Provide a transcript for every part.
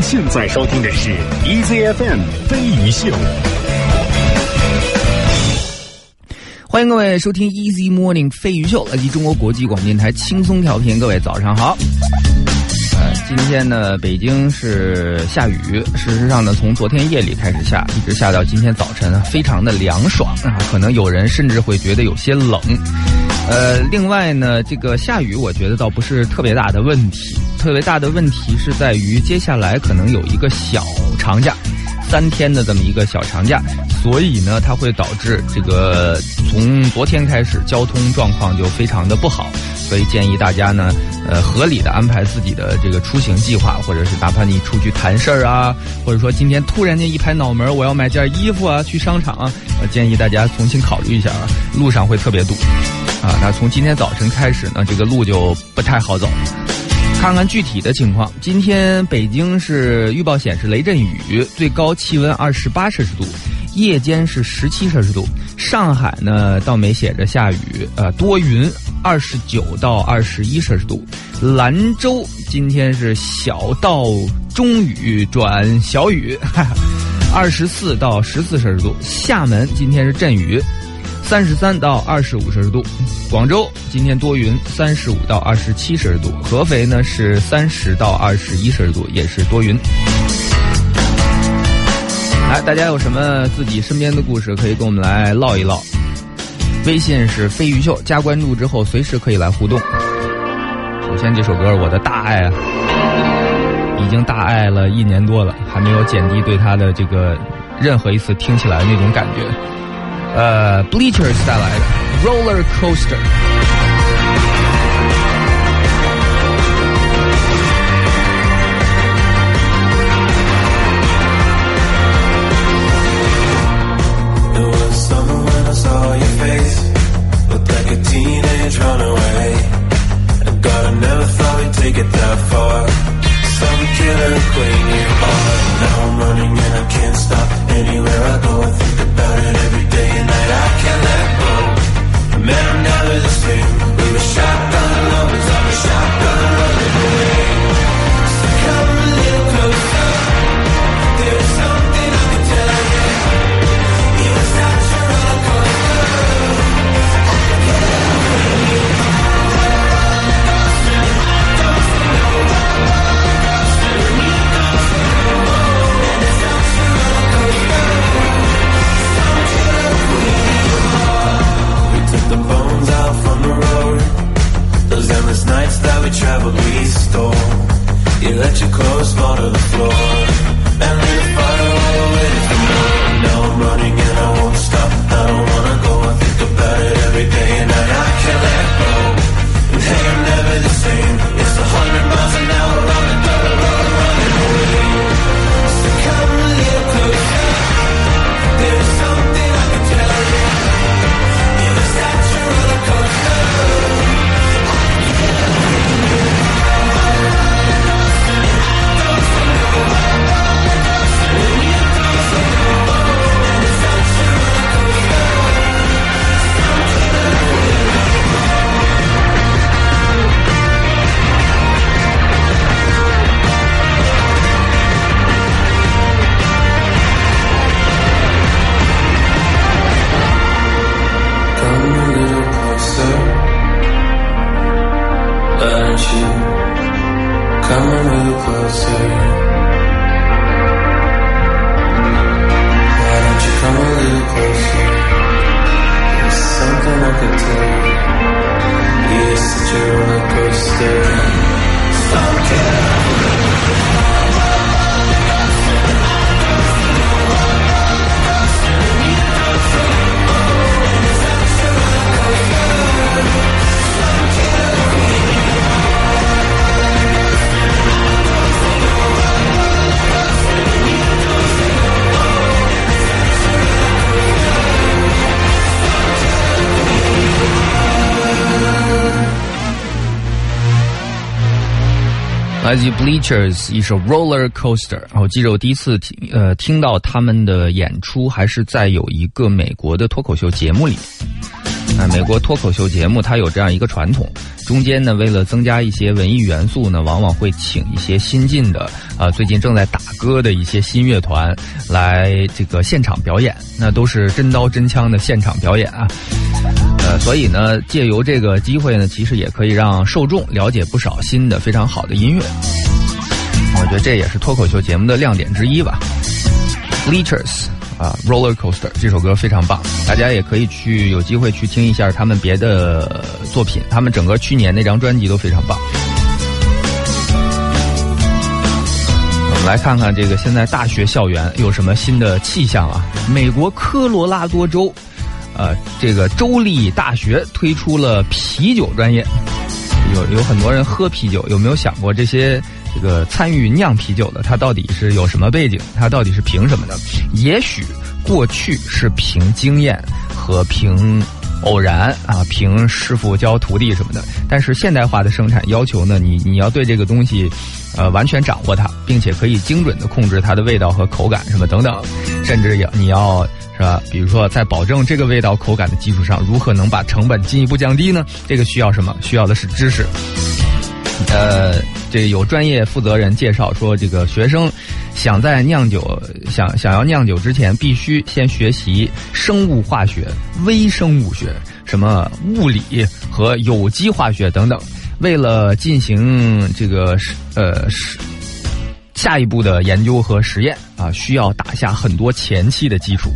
现在收听的是 EZFM 飞鱼秀。 欢迎各位收听 Easy Morning 飞鱼秀，来自中国国际广播电台轻松调频。各位早上好。今天呢，北京是下雨，事实上呢，从昨天夜里开始下，一直下到今天早晨，非常的凉爽啊，可能有人甚至会觉得有些冷。另外呢，这个下雨我觉得倒不是特别大的问题，特别大的问题是在于接下来可能有一个小长假，3天的这么一个小长假，所以呢，它会导致这个从昨天开始交通状况就非常的不好，所以建议大家呢，合理的安排自己的这个出行计划，或者是哪怕你出去谈事儿啊，或者说今天突然间一拍脑门，我要买件衣服啊，去商场啊，我建议大家重新考虑一下啊，路上会特别堵啊。那从今天早晨开始呢，这个路就不太好走。看看具体的情况，今天北京是预报显示雷阵雨，最高气温28摄氏度，夜间是17摄氏度。上海呢倒没写着下雨，多云，29到21摄氏度。兰州今天是小到中雨转小雨，24到14摄氏度。厦门今天是阵雨，33到25摄氏度。广州今天多云，35到27摄氏度。合肥呢是30到21摄氏度，也是多云。来，大家有什么自己身边的故事可以跟我们来唠一唠。微信是飞鱼秀，加关注之后随时可以来互动。首先这首歌我的大爱啊，已经大爱了1年多了，还没有减低对他的这个任何一次听起来那种感觉。Bleachers 带来的 Roller Coaster。 Teenage runaway, and God, I never thought we'd take it that far. Some killer queen you are. Now I'm running and I can't stop. Anywhere I go, I think about it every day and night. I can't let go. Man, I'm never the same. We were shotgun lovers, I was shotgun running away. So come a little closer. There's something I can tell you. You were such a roller coaster. The bones out from the road. Those endless nights that we traveled, we stole. You let your clothes fall to the floor and lit a fire while we waited for more. Now I'm running and I won't stop. I don't wanna go. I think about it every day and night. I can't let go. And hey, I'm never the same. It's 100 miles an hour on the double road, running away. So come a little closer. There's something I can tell you. Come a little closer. Why don't you come a little closer? There's something I could tell you. You're such a roller coaster. Some killer. 来自于 Bleachers 一首 Roller Coaster。我记得我第一次听到他们的演出还是在有一个美国的脱口秀节目里。美国脱口秀节目它有这样一个传统，中间呢为了增加一些文艺元素呢，往往会请一些新进的最近正在打歌的一些新乐团来这个现场表演，那都是真刀真枪的现场表演啊。所以呢借由这个机会呢，其实也可以让受众了解不少新的非常好的音乐。我觉得这也是脱口秀节目的亮点之一吧。Bleachers Roller Coaster 这首歌非常棒，大家也可以有机会去听一下他们别的作品，他们整个去年那张专辑都非常棒。我们来看看这个现在大学校园有什么新的气象啊。美国科罗拉多州这个州立大学推出了啤酒专业。有很多人喝啤酒，有没有想过这些这个参与酿啤酒的他到底是有什么背景，他到底是凭什么的？也许过去是凭经验和凭偶然凭师傅教徒弟什么的，但是现代化的生产要求呢，你要对这个东西完全掌握它，并且可以精准的控制它的味道和口感什么等等，甚至你要是吧，比如说在保证这个味道口感的基础上，如何能把成本进一步降低呢？这个需要什么？需要的是知识。这有专业负责人介绍说，这个学生想在酿酒想要酿酒之前，必须先学习生物化学、微生物学、什么物理和有机化学等等。为了进行这个下一步的研究和实验需要打下很多前期的基础。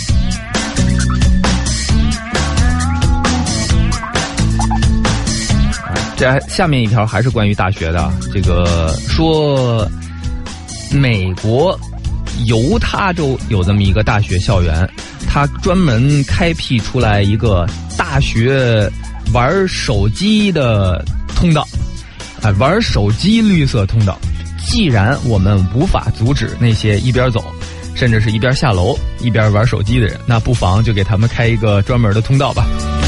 这下面一条还是关于大学的，这个说美国犹他州有这么一个大学校园，它专门开辟出来一个大学玩手机的通道，玩手机绿色通道。既然我们无法阻止那些一边走甚至是一边下楼一边玩手机的人，那不妨就给他们开一个专门的通道吧。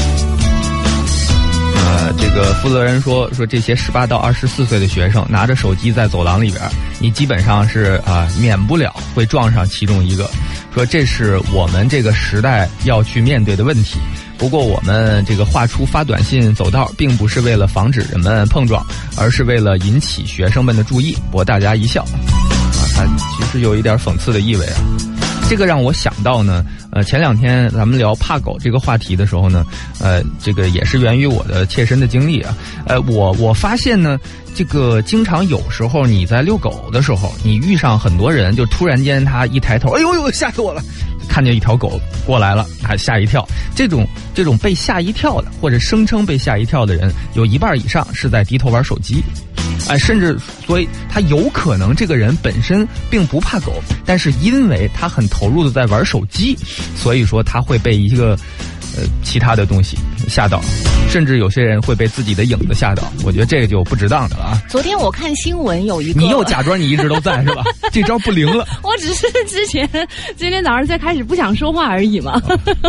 这个负责人说这些18到24岁的学生拿着手机在走廊里边，你基本上是免不了会撞上其中一个，说这是我们这个时代要去面对的问题。不过我们这个画出发短信走道，并不是为了防止人们碰撞，而是为了引起学生们的注意，博大家一笑。它其实有一点讽刺的意味啊。这个让我想到呢，前两天咱们聊怕狗这个话题的时候呢，这个也是源于我的切身的经历啊。我发现呢，这个经常有时候你在遛狗的时候，你遇上很多人，就突然间他一抬头，哎呦吓死我了，看见一条狗过来了，还吓一跳。这种被吓一跳的，或者声称被吓一跳的人，有一半以上是在低头玩手机。甚至所以他有可能这个人本身并不怕狗，但是因为他很投入的在玩手机，所以说他会被一个其他的东西吓到，甚至有些人会被自己的影子吓到。我觉得这个就不值当的了啊。 昨天我看新闻有一个， 你又假装你一直都在是吧？这招不灵了。 我只是今天早上才开始不想说话而已嘛。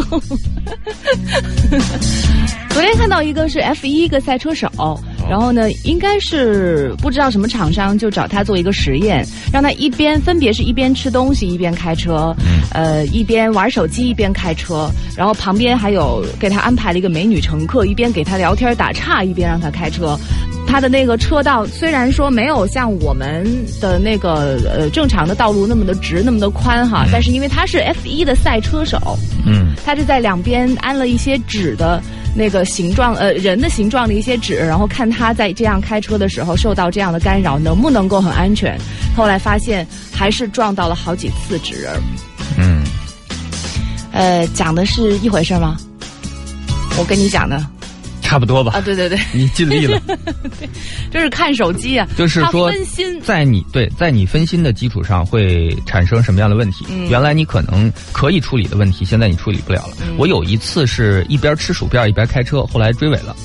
昨天看到一个是 F1 一个赛车手，然后呢应该是不知道什么厂商就找他做一个实验，让他分别是一边吃东西一边开车，一边玩手机一边开车，然后旁边还有给他安排了一个美女乘客，一边给他聊天打岔一边让他开车。他的那个车道虽然说没有像我们的那个正常的道路那么的直那么的宽哈，但是因为他是 F1 的赛车手，他就在两边安了一些纸的那个形状人的形状的一些纸，然后看他在这样开车的时候受到这样的干扰能不能够很安全。后来发现还是撞到了好几次纸人。讲的是一回事吗？我跟你讲的差不多吧。 对对对， 你尽力了。 对，就是看手机啊， 就是说分心，在你分心的基础上会产生什么样的问题？原来你可能可以处理的问题，现在你处理不了了。我有一次是一边吃薯片一边开车，后来追尾了。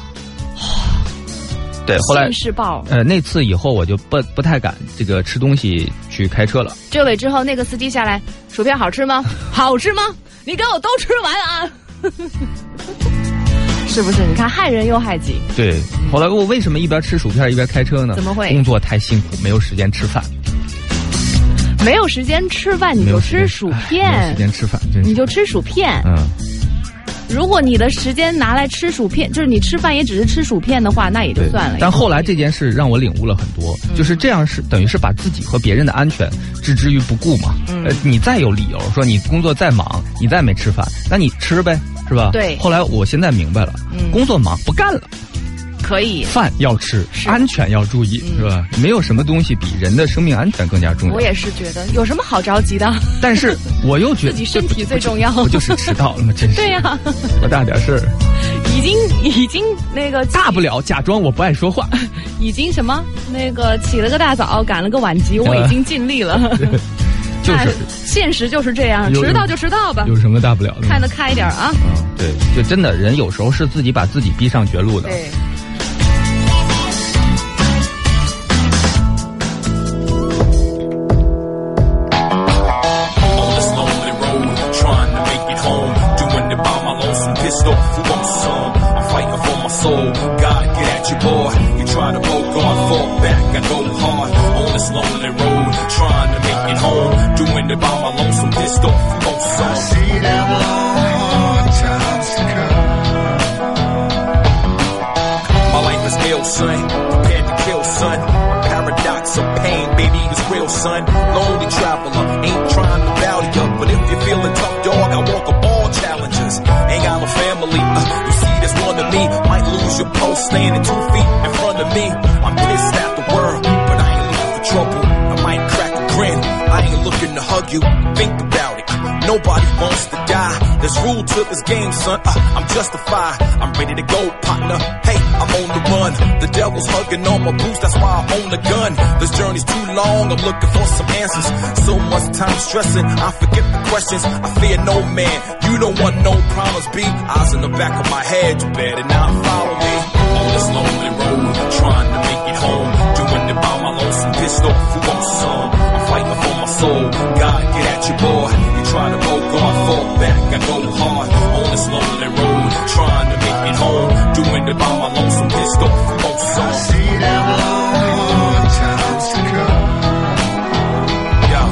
对，后来新世报。 那次以后我就不太敢这个吃东西去开车了。 追尾之后，那个司机下来，薯片好吃吗？好吃吗？你给我都吃完啊！ 是不是？你看害人又害己。 对，后来我为什么一边吃薯片一边开车呢？ 怎么会？ 工作太辛苦，没有时间吃饭。 没有时间吃饭，你就吃薯片。 没有时间吃饭， 你就吃薯片。如果你的时间拿来吃薯片，就是你吃饭也只是吃薯片的话，那也就算了。 但后来这件事让我领悟了很多，就是这样是等于是把自己和别人的安全置之于不顾嘛。你再有理由说你工作再忙，你再没吃饭，那你吃呗，是吧？ 对。 后来我现在明白了，工作忙不干了。 可以， 饭要吃，安全要注意，是吧？没有什么东西比人的生命安全更加重要。 我也是觉得，有什么好着急的？ 但是我又觉得自己身体最重要。 不就是迟到了吗？真是。 对呀， 多大点事儿？ 已经那个大不了假装我不爱说话。 已经什么那个起了个大早，赶了个晚集，我已经尽力了。 就是现实就是这样，迟到就迟到吧， 有什么大不了的？ 看得开一点啊！ 对，就真的人有时候是自己把自己逼上绝路的。 对。 Son, lonely traveler, ain't trying to bow you, but if you're feeling tough, dog, I walk up all challenges. Ain't got no family, you see this one of me, might lose your post standing 2 feet in front of me. I'm pissed at the world, but I ain't looking for trouble. I might crack a grin, I ain't looking to hug you. Think about it, nobody wants to die. There's rule to this game, son, I'm justified. I'm ready to go, partner. Hey, I'm on the run. The devil's hugging on my boots, that's why I own a gun. This journey's too long, I'm looking for some answers. So much time stressing, I forget the questions. I fear no man, you don't want no problems, B. Eyes in the back of my head, you better not follow me. On this lonely road, trying to make it home. Doing it by my lonesome, pissed off, who wants some? I'm fighting for my soul, God, get at you, boy. You try to go, God, fall back, I go hard. On this lonely road, trying to make it home. Doing it by my lonesome, pissed off, who wants some? I see them long times to come. Yo,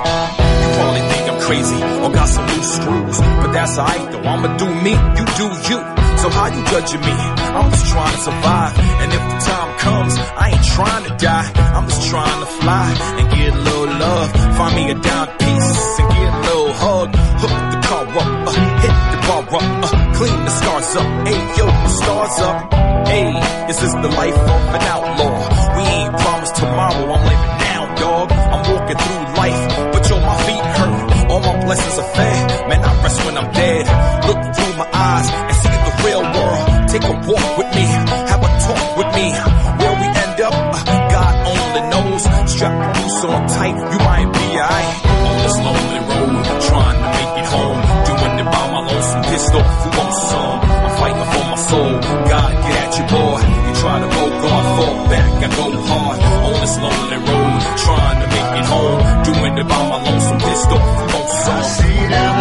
you probably think I'm crazy or got some loose screws, but that's alright though, I'ma do me, you do you. So how you judging me? I'm just trying to survive, and if the time comes, I ain't trying to die. I'm just trying to fly and get a little love. Find me a dime piece and get a little hug. Hook the car up, hit the bar up, clean the stars up. Hey yo, the stars up. Hey, this is the life of an outlaw. We ain't promised tomorrow, I'm living now, dog. I'm walking through life, but yo, my feet hurt. All my blessings are fed, man, I rest when I'm dead. Look through my eyes and see the real world. Take a walk with me, have a talk with me. Where we end up, God only knows. Strap the goose on tight, you might be alright. On this lonely road, trying to make it home. Doing it by my lonesome, pissed off, who wants some? I'm fighting for my soul, God get at you, boy. You try to go, God fall back, I go hard. On this lonely road, trying to make it home. Doing it by my lonesome, pissed off, who wants some? I see them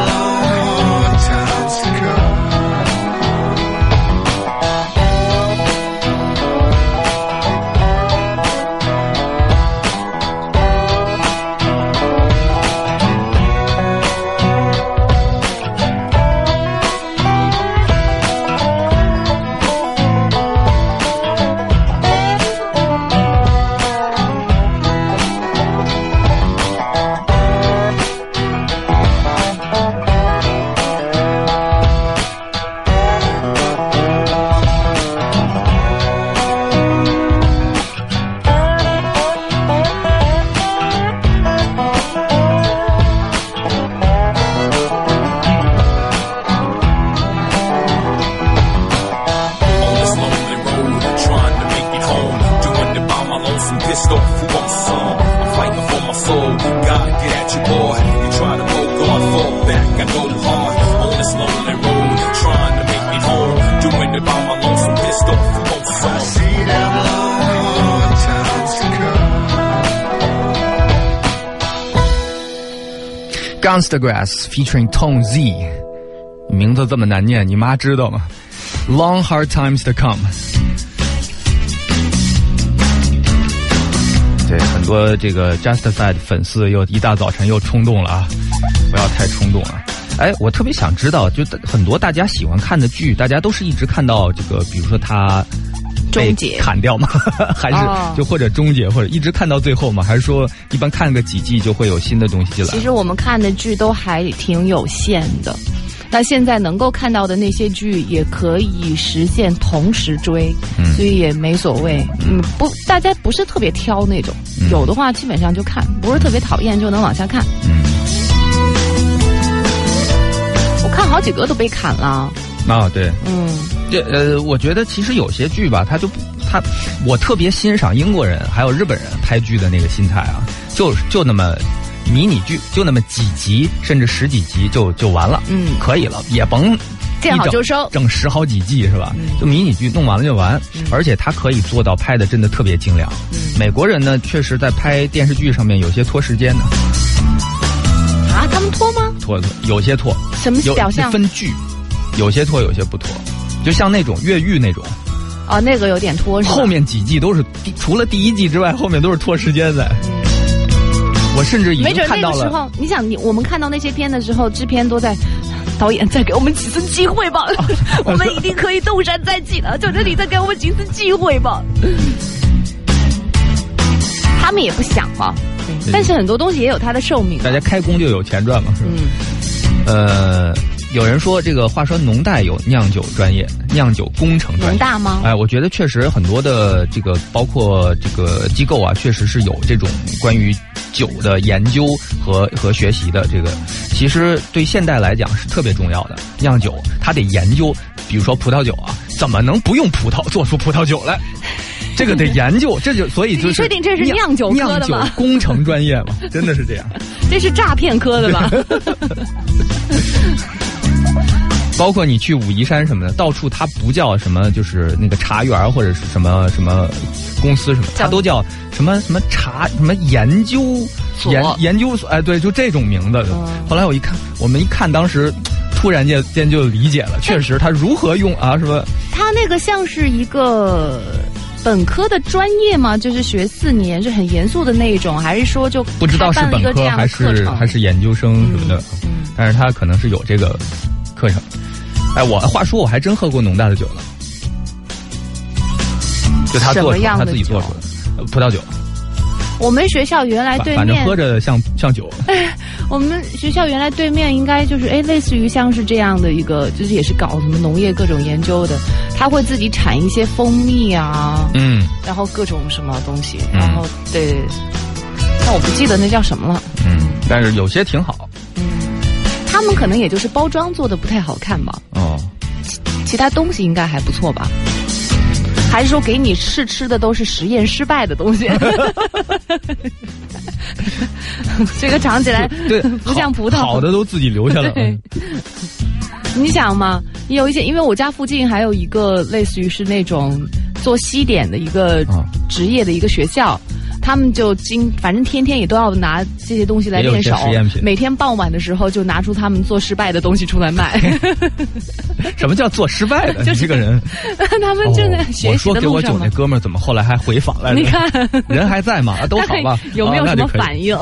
long times to come. Gunstagrass featuring Tone Z， 名字这么难念，你妈知道吗？ Long hard times to come。对，很多这个 Justified 粉丝又一大早晨又冲动了啊！不要太冲动了。哎，我特别想知道，就很多大家喜欢看的剧，大家都是一直看到这个，比如说他被砍掉吗？还是就或者终结，或者一直看到最后吗？还是说一般看个几季就会有新的东西进来？ 其实我们看的剧都还挺有限的。那现在能够看到的那些剧也可以实现同时追，所以也没所谓。不，大家不是特别挑那种，有的话基本上就看，不是特别讨厌就能往下看。我看好几个都被砍了。 啊，对，我觉得其实有些剧吧，我特别欣赏英国人还有日本人拍剧的那个心态啊，就那么。迷你剧就那么几集，甚至10几集就完了，可以了，也甭见好就收， 整10好几季是吧？就迷你剧弄完了就完，而且他可以做到拍的真的特别精良。美国人呢，确实在拍电视剧上面有些拖时间的。 啊，他们拖吗？ 拖，有些拖。 什么表象？ 分剧，有些拖，有些不拖。就像那种越狱那种。 哦，那个有点拖是吧？ 后面几季都是除了第1季之外，后面都是拖时间的。我甚至已经看到了。没准那个时候， 你想，我们看到那些片的时候，制片都在，导演再给我们几次机会吧，我们一定可以东山再起的，求求你再给我们几次机会吧。他们也不想嘛，但是很多东西也有它的寿命。 大家开工就有钱赚嘛，是吧？有人说这个，话说农大有酿酒专业，酿酒工程专业。 农大吗？ 哎，我觉得确实很多的这个，包括这个机构啊，确实是有这种关于酒的研究和学习的。这个其实对现代来讲是特别重要的。酿酒它得研究，比如说葡萄酒啊，怎么能不用葡萄做出葡萄酒来？这个得研究，所以就是你确定这是酿酒科的吗？ 酿酒工程专业吗？真的是这样？ 这是诈骗科的吧？ 包括你去武夷山什么的，到处它不叫什么，就是那个茶园或者是什么公司什么，它都叫什么茶什么研究所，哎，对，就这种名字。后来我们一看，当时突然间就理解了，确实他如何用啊，是吧？ 他那个像是一个本科的专业吗？就是学4年，是很严肃的那一种，还是说就不知道是本科还是研究生什么的？但是他可能是有这个课程。哎，话说我还真喝过农大的酒了，就他做出他自己做出的葡萄酒。 我们学校原来对面， 反正喝着像酒。 我们学校原来对面应该就是类似于像是这样的一个，就是也是搞什么农业各种研究的，他会自己产一些蜂蜜啊，然后各种什么东西，然后对，但我不记得那叫什么了。 但是有些挺好。 他们可能也就是包装做的不太好看吧。其他东西应该还不错吧？还是说给你吃的都是实验失败的东西？这个尝起来对不像葡萄， 好的都自己留下了。 你想嘛，有一些，因为我家附近还有一个类似于是那种做西点的一个职业的一个学校。他们就反正天天也都要拿这些东西来练手，每天傍晚的时候就拿出他们做失败的东西出来卖。 什么叫做失败的？ 就是这个人， 他们正在学习的路上。 我说给我酒那哥们儿怎么后来还回访来了？ 你看， 人还在吗？都好吧？ 有没有什么反应？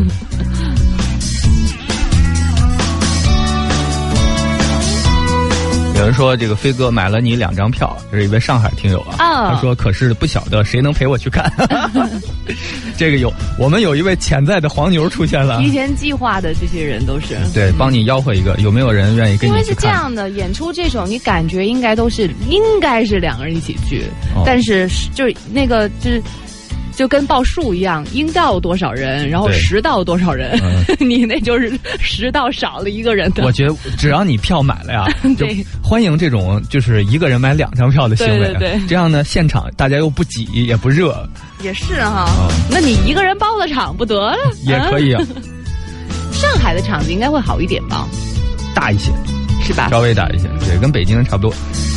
有人说这个飞哥买了你2张票，这是一位上海听友啊。他说可是不晓得谁能陪我去看。这个我们有一位潜在的黄牛出现了， 提前计划的这些人都是对，帮你吆喝一个，有没有人愿意跟你去看？因为是这样的，演出这种你感觉应该是2个人一起去，但是就是那个就跟报数一样，应到多少人，然后实到多少人，你那就是实到少了1个人的。 我觉得只要你票买了呀，就欢迎这种就是1个人买2张票的行为。 对， 这样呢，现场大家又不挤也不热。 也是哈，那你1个人包了场不得了？ 也可以啊。 上海的场子应该会好一点吧？ 大一些， 是吧？ 稍微大一些，对，跟北京差不多。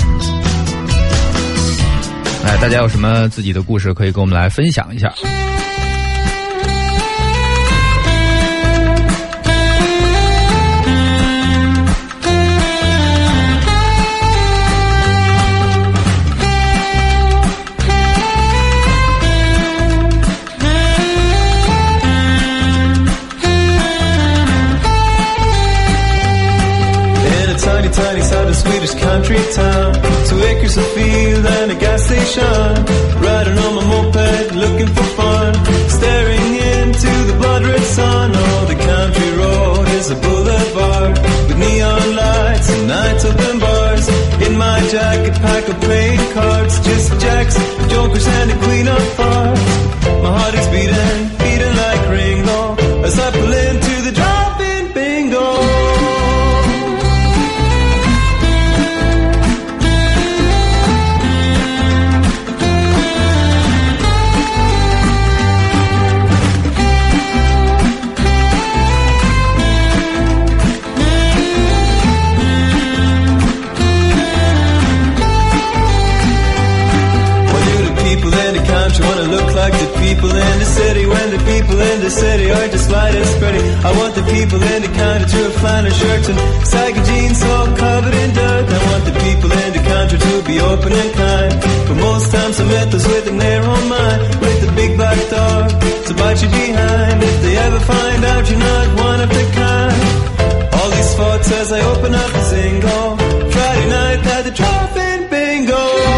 哎，大家有什么自己的故事可以跟我们来分享一下？ Swedish country town. 2 acres of field and a gas station. Riding on my moped, looking for fun. Staring into the blood-red sun. Oh, the country road is a boulevard with neon lights and night open bars. In my jacket, pack of playing cards. Just jacks, jokers, and a queen of hearts. My heart is beating, beating like Ringo as I pull into the drop-in bingo. Wanna look like the people in the city when the people in the city are just light and spready. I want the people in the country to wear flannel shirts and saggy jeans all covered in dirt. I want the people in the country to be open and kind, but most times I met those with a narrow mind, with the big black dog to bite you behind. If they ever find out you're not one of the kind. All these thoughts as I open up the Zingo. Friday night at the drop-in bingo.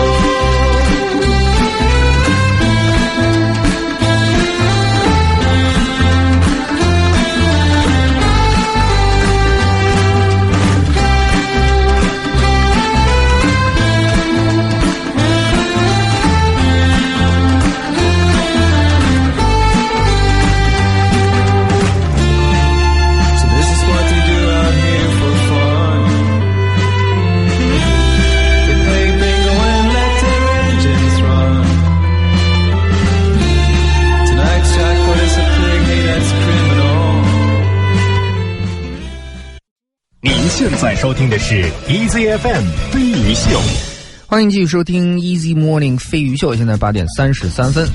现在收听的是 EZFM 飞鱼秀， 欢迎继续收听 Easy Morning 飞鱼秀。现在8点33分，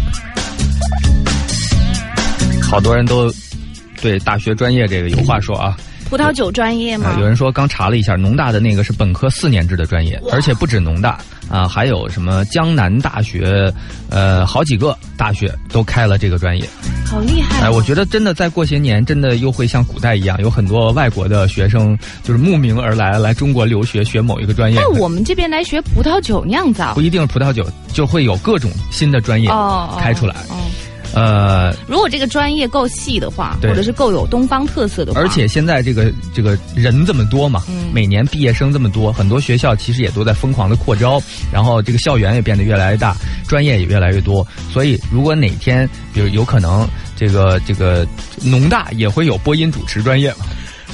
好多人都对大学专业这个有话说啊。 葡萄酒专业吗？ 有人说刚查了一下，农大的那个是本科4年制的专业，而且不止农大啊，还有什么江南大学，好几个大学都开了这个专业。 好厉害！ 我觉得真的再过些年，真的又会像古代一样，有很多外国的学生就是慕名而来中国留学，学某一个专业。 但我们这边来学葡萄酒酿造， 不一定是葡萄酒，就会有各种新的专业开出来。 如果这个专业够细的话，或者是够有东方特色的话， 而且现在这个人这么多嘛，每年毕业生这么多，很多学校其实也都在疯狂的扩招，然后这个校园也变得越来越大，专业也越来越多，所以如果哪天比如有可能这个农大也会有播音主持专业嘛。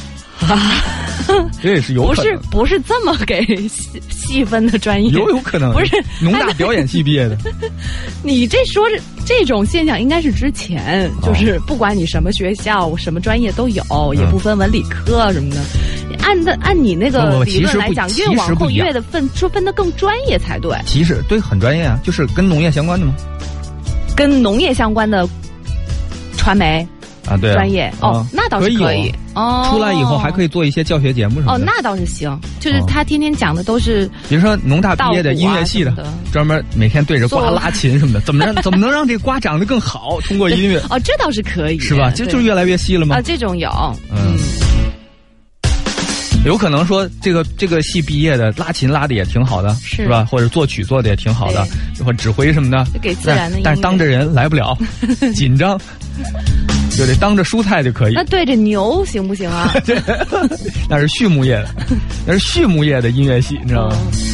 这也是有可能， 不是这么给细分的专业， 有可能不是农大表演系毕业的。 你这说这种现象应该是之前，就是不管你什么学校、什么专业都有，也不分文理科什么的。按你那个理论来讲，越往后越的分得更专业才对。 其实对，很专业啊，就是跟农业相关的吗？跟农业相关的传媒。 啊，对啊， 专业那倒是可以哦。出来以后还可以做一些教学节目什么的。 那倒是行，就是他天天讲的都是， 比如说农大毕业的音乐系的，专门每天对着瓜拉琴什么的，怎么能让这瓜长得更好？通过音乐这倒是可以， 是吧？就越来越细了吗？ 这种有， 有可能说这个系毕业的拉琴拉的也挺好的，是吧？或者作曲做的也挺好的，或者指挥什么的， 就给自然的音乐， 但是当着人来不了，紧张。就得当着蔬菜就可以。 那对着牛行不行啊？ 对，那是畜牧业的，那是畜牧业的音乐系，你知道吗？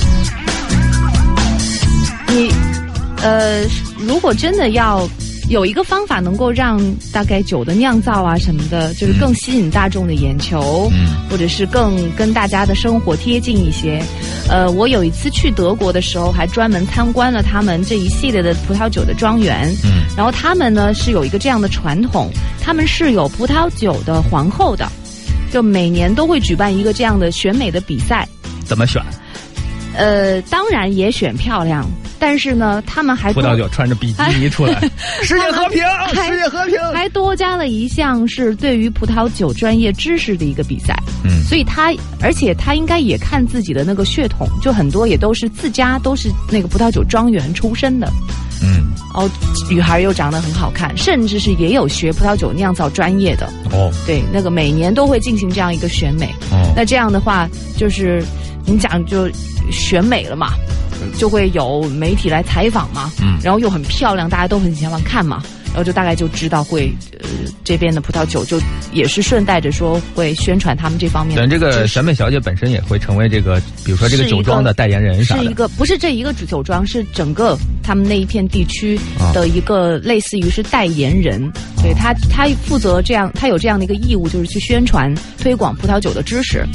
你如果真的要有一个方法能够让大概酒的酿造啊什么的，就是更吸引大众的眼球，或者是更跟大家的生活贴近一些。我有一次去德国的时候，还专门参观了他们这一系列的葡萄酒的庄园。然后他们呢是有一个这样的传统，他们是有葡萄酒的皇后的，就每年都会举办一个这样的选美的比赛。 怎么选？ 当然也选漂亮。但是呢，他们还葡萄酒穿着比基尼出来，世界和平，世界和平， 还多加了一项是对于葡萄酒专业知识的一个比赛。所以而且他应该也看自己的那个血统，就很多也都是自家都是那个葡萄酒庄园出身的。女孩又长得很好看，甚至是也有学葡萄酒酿造专业的。对，那个每年都会进行这样一个选美。那这样的话，就是你讲就选美了嘛，就会有媒体来采访嘛，然后又很漂亮，大家都很喜欢看嘛，然后就大概就知道会这边的葡萄酒就也是顺带着说会宣传他们这方面的。 这个选美小姐本身也会成为这个，比如说这个酒庄的代言人啥的。 是一个不是这一个酒庄，是整个他们那一片地区的一个类似于是代言人，所以他负责这样，他有这样的一个义务，就是去宣传推广葡萄酒的知识。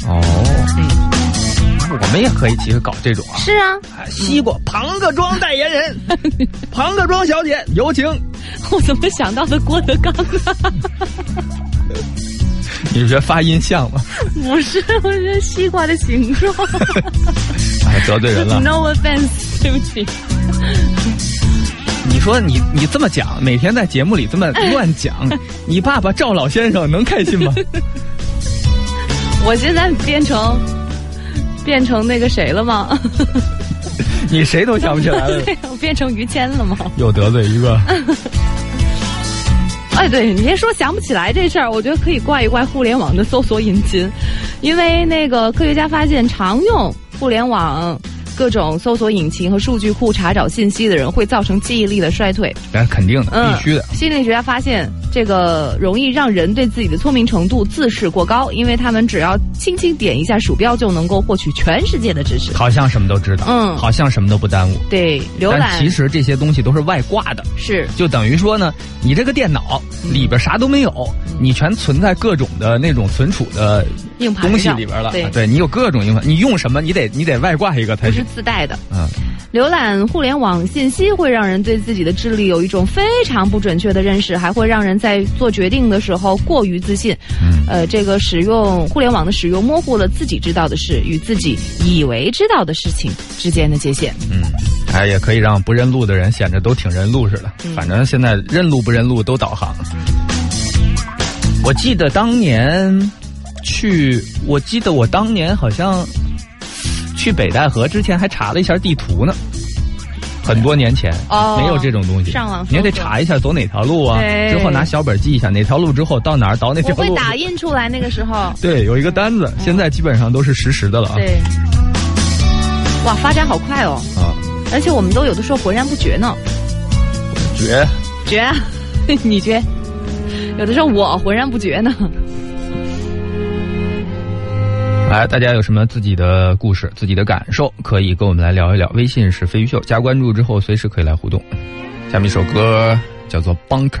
我们也可以其实搞这种啊。 是啊， 西瓜庞各庄代言人，庞各庄小姐有请。 我怎么想到的郭德纲呢？ 你觉得发音像吗？ 不是，我觉得西瓜的形状。 得罪人了。 No offense， 对不起。 你说你这么讲，每天在节目里这么乱讲，你爸爸赵老先生能开心吗？ 我现在变成那个谁了吗？ 你谁都想不起来了。 我变成于谦了吗？ 又得罪一个。 哎，对，你先说想不起来这事儿，我觉得可以怪一怪互联网的搜索引擎，因为那个科学家发现，常用互联网各种搜索引擎和数据库查找信息的人，会造成记忆力的衰退。 那肯定的，必须的。 心理学家发现，这个容易让人对自己的聪明程度自视过高，因为他们只要轻轻点一下鼠标，就能够获取全世界的知识， 好像什么都知道，好像什么都不耽误。 对，浏览， 但其实这些东西都是外挂的， 是， 就等于说呢，你这个电脑里边啥都没有，你全存在各种的那种存储的硬盘东西里边了。 对， 你有各种硬盘，你用什么，你得外挂一个才不是自带的。浏览互联网信息会让人对自己的智力有一种非常不准确的认识，还会让人在做决定的时候过于自信。这个使用互联网的使用模糊了自己知道的事与自己以为知道的事情之间的界限。 也可以让不认路的人显得都挺认路似的。反正现在认路不认路都导航。我记得我当年好像去北戴河之前还查了一下地图呢，很多年前没有这种东西， 上网你也得查一下走哪条路啊，之后拿小本记一下哪条路之后到哪儿倒哪条路。 我会打印出来那个时候。对， 有一个单子，现在基本上都是实时的了啊。 对，哇，发展好快哦。而且我们都有的时候浑然不觉呢。觉啊，你觉？有的时候我浑然不觉呢。 来，大家有什么自己的故事、自己的感受，可以跟我们来聊一聊。微信是飞鱼秀，加关注之后随时可以来互动。下面一首歌叫做《Bunker》。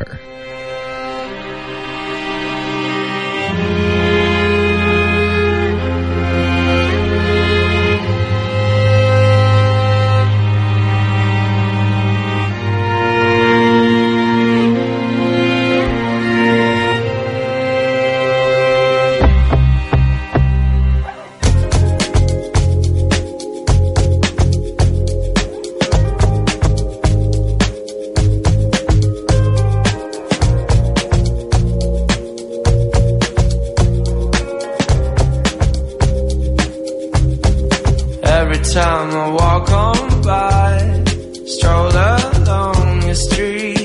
time I walk on by, stroll along your street.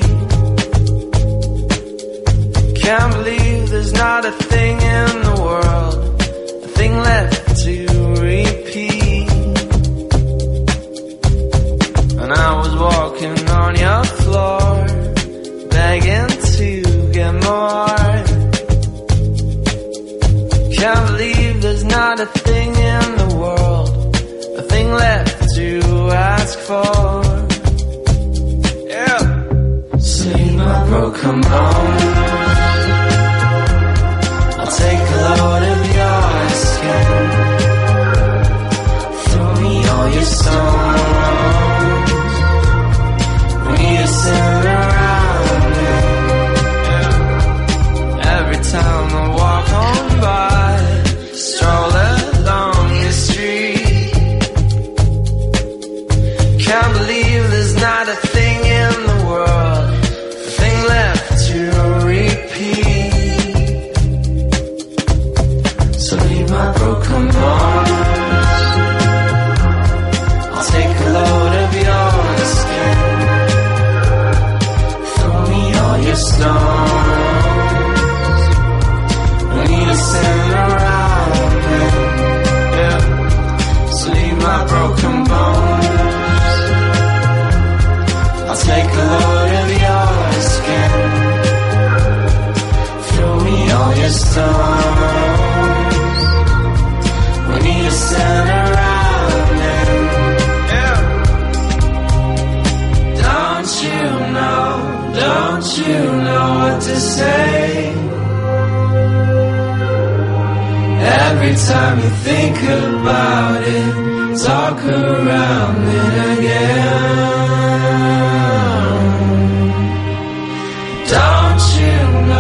Can't believe there's not a thing in the world, a thing left to repeat. And I was walking on your floor, begging to get more. Can't believe there's not a thing in the world, a thing left to ask for. Yeah. See my broken bones, I'll take a load of your skin. Throw me all your stones, we need to sit around me. Yeah. Every time I walk on by, stroll along your street. Can't believe there's not a thing in the world, a thing left to repeat. So leave my broken bones, I'll take a load of your skin. Throw me all your stones, we need to send around. Yeah. So to say. Every time you think about it, talk around it again. Don't you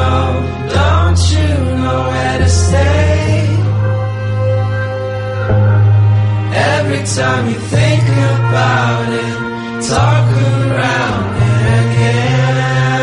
know where to stay? Every time you think about it, talk around it again.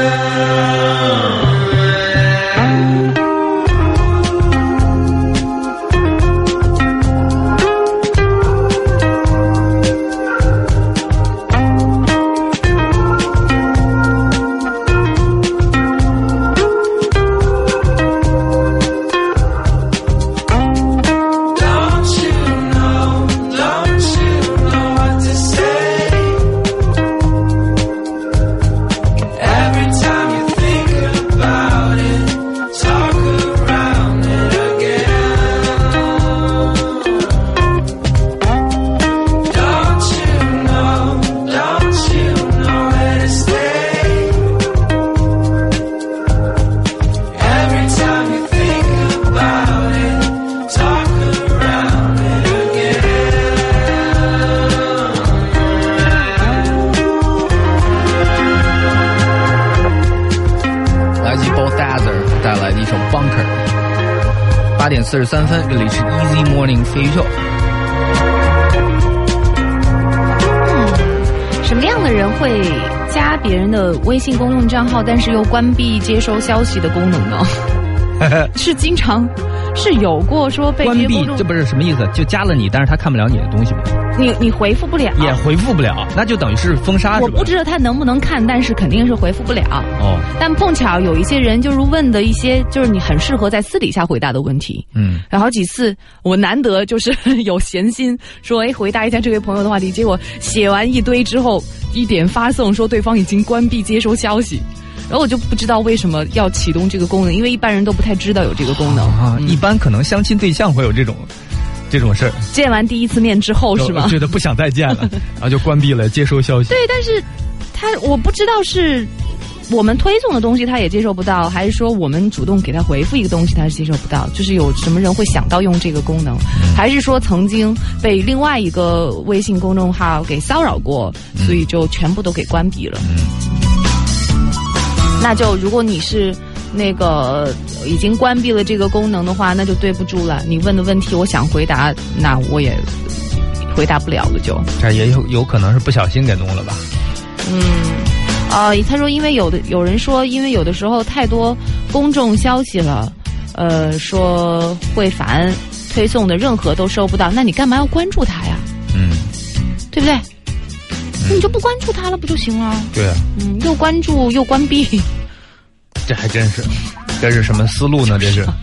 8点43分，这里是 Easy Morning 飞鱼秀。 什么样的人会加别人的微信公众账号，但是又关闭接收消息的功能呢？是经常是有过说被关闭，这不是什么意思？就加了你，但是他看不了你的东西吗？ 你回复不了， 也回复不了，那就等于是封杀。 我不知道他能不能看，但是肯定是回复不了。 哦， 但碰巧有一些人就是问的一些，就是你很适合在私底下回答的问题。然后几次我难得就是有闲心说，回答一下这位朋友的话题，结果写完一堆之后，一点发送说对方已经关闭接收消息。然后我就不知道为什么要启动这个功能，因为一般人都不太知道有这个功能啊。一般可能相亲对象会有这种事儿。 见完第一次面之后是吗？ 觉得不想再见了，然后就关闭了接收消息。 对，但是我不知道是我们推送的东西他也接受不到，还是说我们主动给他回复一个东西他是接受不到，就是有什么人会想到用这个功能，还是说曾经被另外一个微信公众号给骚扰过，所以就全部都给关闭了。那就如果你是那个已经关闭了这个功能的话，那就对不住了。你问的问题我想回答，那我也回答不了了就。 这也有可能是不小心给弄了吧。 他说因为有人说因为有的时候太多公众消息了，说会烦，推送的任何都收不到，那你干嘛要关注他呀？对不对？你就不关注他了不就行了？ 对啊。 又关注又关闭， 这还真是，这是什么思路呢？这是。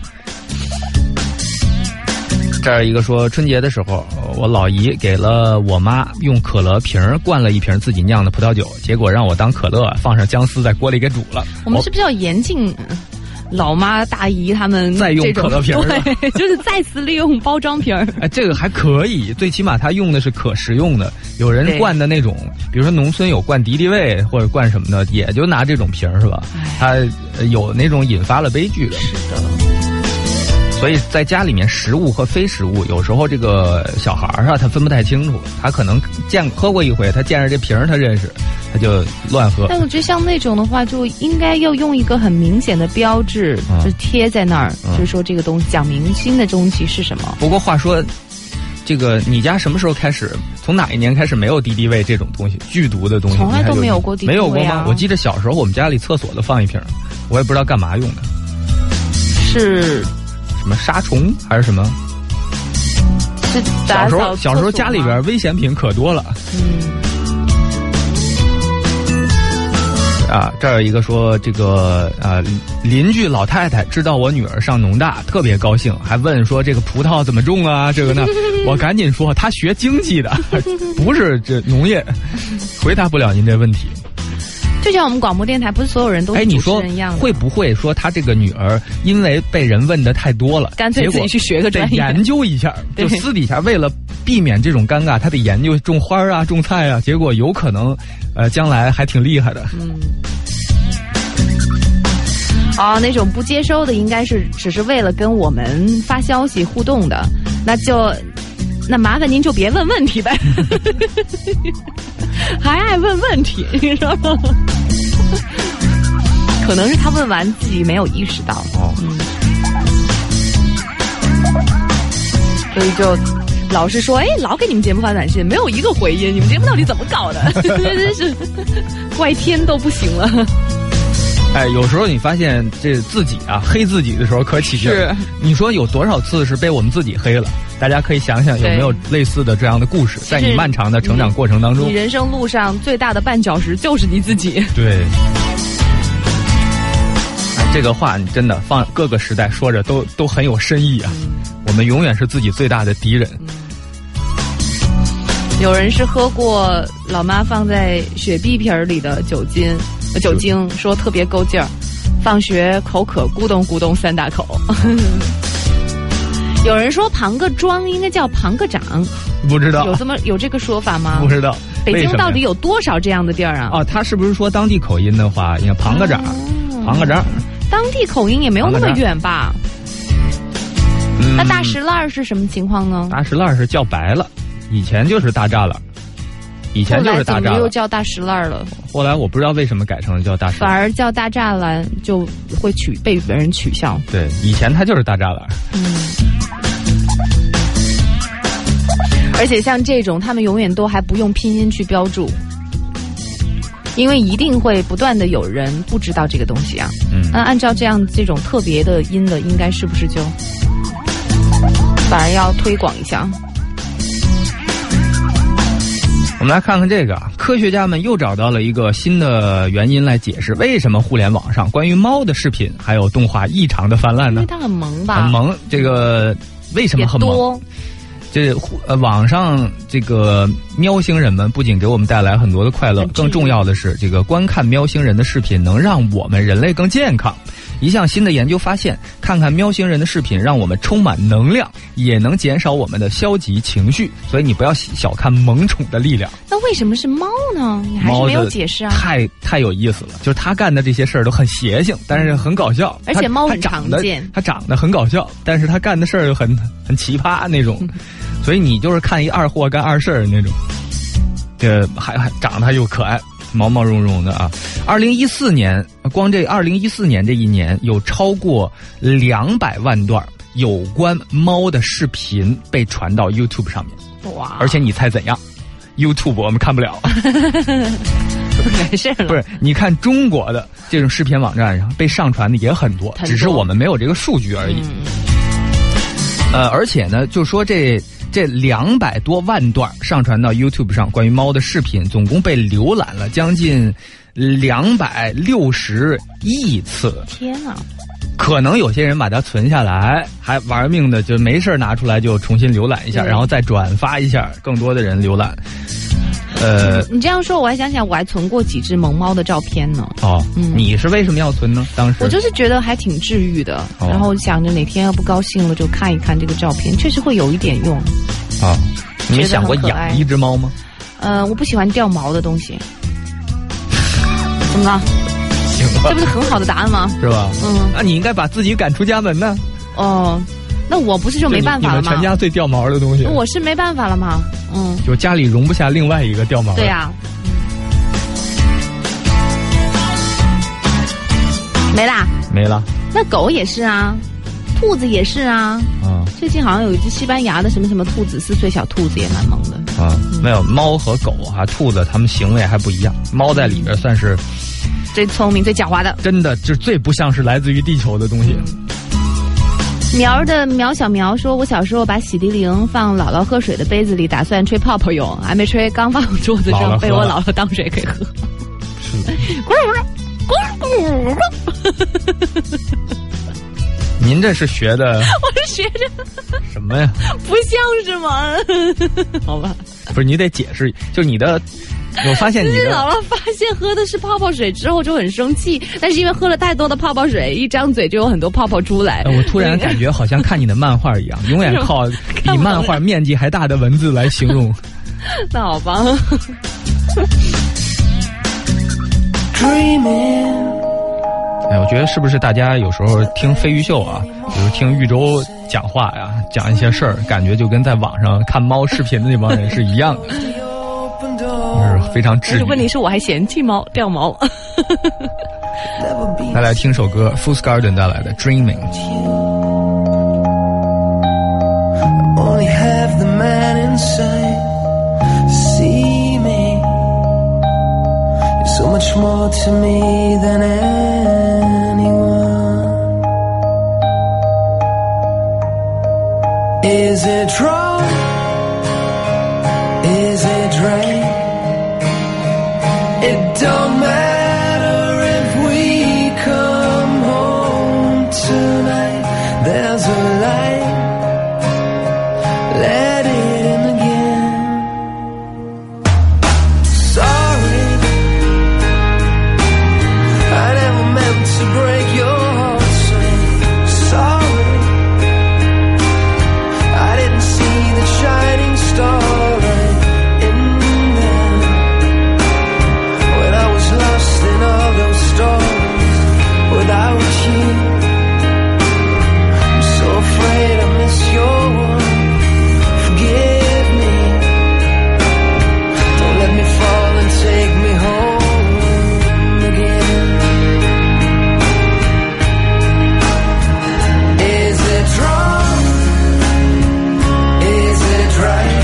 这儿一个说，春节的时候，我老姨给了我妈用可乐瓶灌了一瓶自己酿的葡萄酒，结果让我当可乐，放上姜丝在锅里给煮了。 我们是不是要严禁老妈大姨他们再用可乐瓶？ 对，就是再次利用包装瓶。 这个还可以，最起码他用的是可食用的。有人灌的那种，比如说农村有灌敌敌畏或者灌什么的，也就拿这种瓶是吧？他有那种引发了悲剧的。 是的。 所以在家里面，食物和非食物，有时候这个小孩啊，他分不太清楚，他可能喝过一回，他见着这瓶他认识，他就乱喝。 但我觉得像那种的话，就应该要用一个很明显的标志，就贴在那儿，就是说这个东西讲明星的东西是什么。 不过话说，这个你家什么时候开始？从哪一年开始没有敌敌畏这种东西？剧毒的东西从来都没有过敌敌畏啊。 没有过吗？我记得小时候我们家里厕所都放一瓶，我也不知道干嘛用的。 是。 什么杀虫还是什么？小时候家里边危险品可多了。这儿有一个说这个邻居老太太知道我女儿上农大，特别高兴，还问说这个葡萄怎么种啊？这个呢，我赶紧说她学经济的，不是这农业，回答不了您这问题。 就像我们广播电台，不是所有人都是主持人一样的。 会不会说他这个女儿因为被人问的太多了， 干脆自己去学个专业， 得研究一下，就私底下为了避免这种尴尬，他得研究种花啊、种菜啊，结果有可能将来还挺厉害的。 哦，那种不接收的应该是只是为了跟我们发消息互动的，那麻烦您就别问问题呗，还爱问问题，你说可能是他问完自己没有意识到哦，所以就老是说，老给你们节目发短信，没有一个回音，你们节目到底怎么搞的？真是怪天都不行了。 有时候你发现这自己啊黑自己的时候可起劲。是，你说有多少次是被我们自己黑了？大家可以想想有没有类似的这样的故事，在你漫长的成长过程当中， 你人生路上最大的绊脚石就是你自己。 对。这个话你真的放各个时代说着都很有深意啊。我们永远是自己最大的敌人。 有人是喝过老妈放在雪碧瓶里的酒精，说特别够劲儿，放学口渴咕咚咕咚3大口。有人说庞各庄应该叫庞各掌， 不知道有这个说法吗？ 不知道。 北京到底有多少这样的地儿啊？ 他是不是说当地口音的话，应该庞各掌，庞各掌。 当地口音也没有那么远吧？那大石烂是什么情况呢？ 大石烂是叫白了，以前就是大栅栏，以前就是大栅栏， 怎么又叫大石烂了？ 后来我不知道为什么改成了叫大石烂， 反而叫大栅栏就会被别人取笑。 对，以前它就是大栅栏。 而且像这种，他们永远都还不用拼音去标注。因为一定会不断的有人不知道这个东西啊，那按照这种特别的音的，应该是不是就反而要推广一下？ 我们来看看这个，科学家们又找到了一个新的原因来解释为什么互联网上关于猫的视频还有动画异常的泛滥呢？ 因为它很萌吧？ 很萌，这个为什么很萌？这网上这个喵星人们不仅给我们带来很多的快乐，更重要的是，这个观看喵星人的视频能让我们人类更健康。一项新的研究发现，看看喵星人的视频让我们充满能量，也能减少我们的消极情绪。所以你不要小看萌宠的力量。 那为什么是猫呢？你还是没有解释啊。 太有意思了，就是他干的这些事儿都很邪性，但是很搞笑。 而且猫很常见， 它长得很搞笑，但是他干的事儿又很奇葩那种。所以你就是看一二货干二事儿那种，还长得又可爱，毛毛茸茸的啊。2014年，光这2014年这一年，有超过200万段有关猫的视频被传到 YouTube 上面。 哇！ 而且你猜怎样 ？YouTube 我们看不了。 没事了。 不是，你看中国的这种视频网站上被上传的也很多，只是我们没有这个数据而已。而且呢，就说这200多万段上传到 YouTube 上关于猫的视频，总共被浏览了将近260亿次。 天哪！ 可能有些人把它存下来，还玩命的就没事拿出来就重新浏览一下，然后再转发一下，更多的人浏览。 你这样说，我还想起来，我还存过几只萌猫的照片呢。 你是为什么要存呢？当时我就是觉得还挺治愈的，然后想着哪天要不高兴了就看一看这个照片，确实会有一点用。 你想过养一只猫吗？ 我不喜欢掉毛的东西。怎么了？ 行吧， 这不是很好的答案吗？ 是吧？那你应该把自己赶出家门呢。 那我不是就没办法了吗？ 你们全家最掉毛的东西， 我是没办法了吗？ 就家里容不下另外一个掉毛的。 对呀。没啦。那狗也是啊，兔子也是啊。最近好像有一只西班牙的什么什么兔子，4岁小兔子也蛮萌的。 没有，猫和狗兔子它们行为还不一样。猫在里边算是最聪明、最狡猾的， 真的就最不像是来自于地球的东西。 苗的苗小苗说，我小时候把洗涤灵放姥姥喝水的杯子里，打算吹泡泡用，还没吹，刚放桌子上，被我姥姥当水给喝。 您这是学的？ 我是学着什么呀？ 不像是吗？好吧， 不是，你得解释，就你的。我发现你的姥姥发现喝的是泡泡水之后就很生气，但是因为喝了太多的泡泡水，一张嘴就有很多泡泡出来。 我突然感觉好像看你的漫画一样，永远靠比漫画面积还大的文字来形容。 那好吧。 Dreaming 我觉得是不是大家有时候听飞鱼秀啊，比如听豫州讲话呀，讲一些事儿，感觉就跟在网上看猫视频的那帮人是一样的，就是非常治愈。 问题是我还嫌弃猫掉毛。 来听首歌 Fool's Garden 带来的 Dreaming。 Only have the man inside see me. You're so much more to me than anyone. Is it wrong? Is it right? It don't matter if we come home tonight. There's a light. Let it in again. Sorry, I never meant to break your heart. Sorry, I didn't see the shining star right in there when I was lost in all those storms without you. I'm so afraid I miss your words. Forgive me. Don't let me fall and take me home again. Is it wrong? Is it right?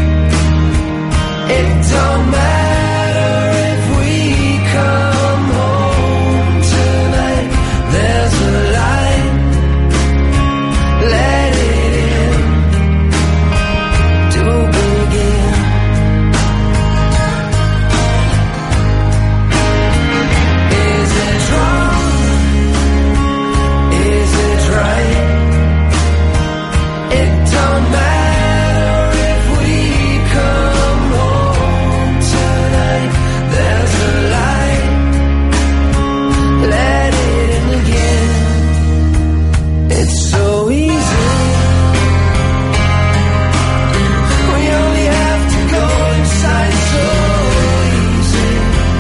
It don't matter if we come home tonight. There's a light. Let it in. To begin. Is it wrong? Is it right? It don't matter if we come home tonight. There's a light. Let it in again. It's so easy. We only have to go inside. So easy.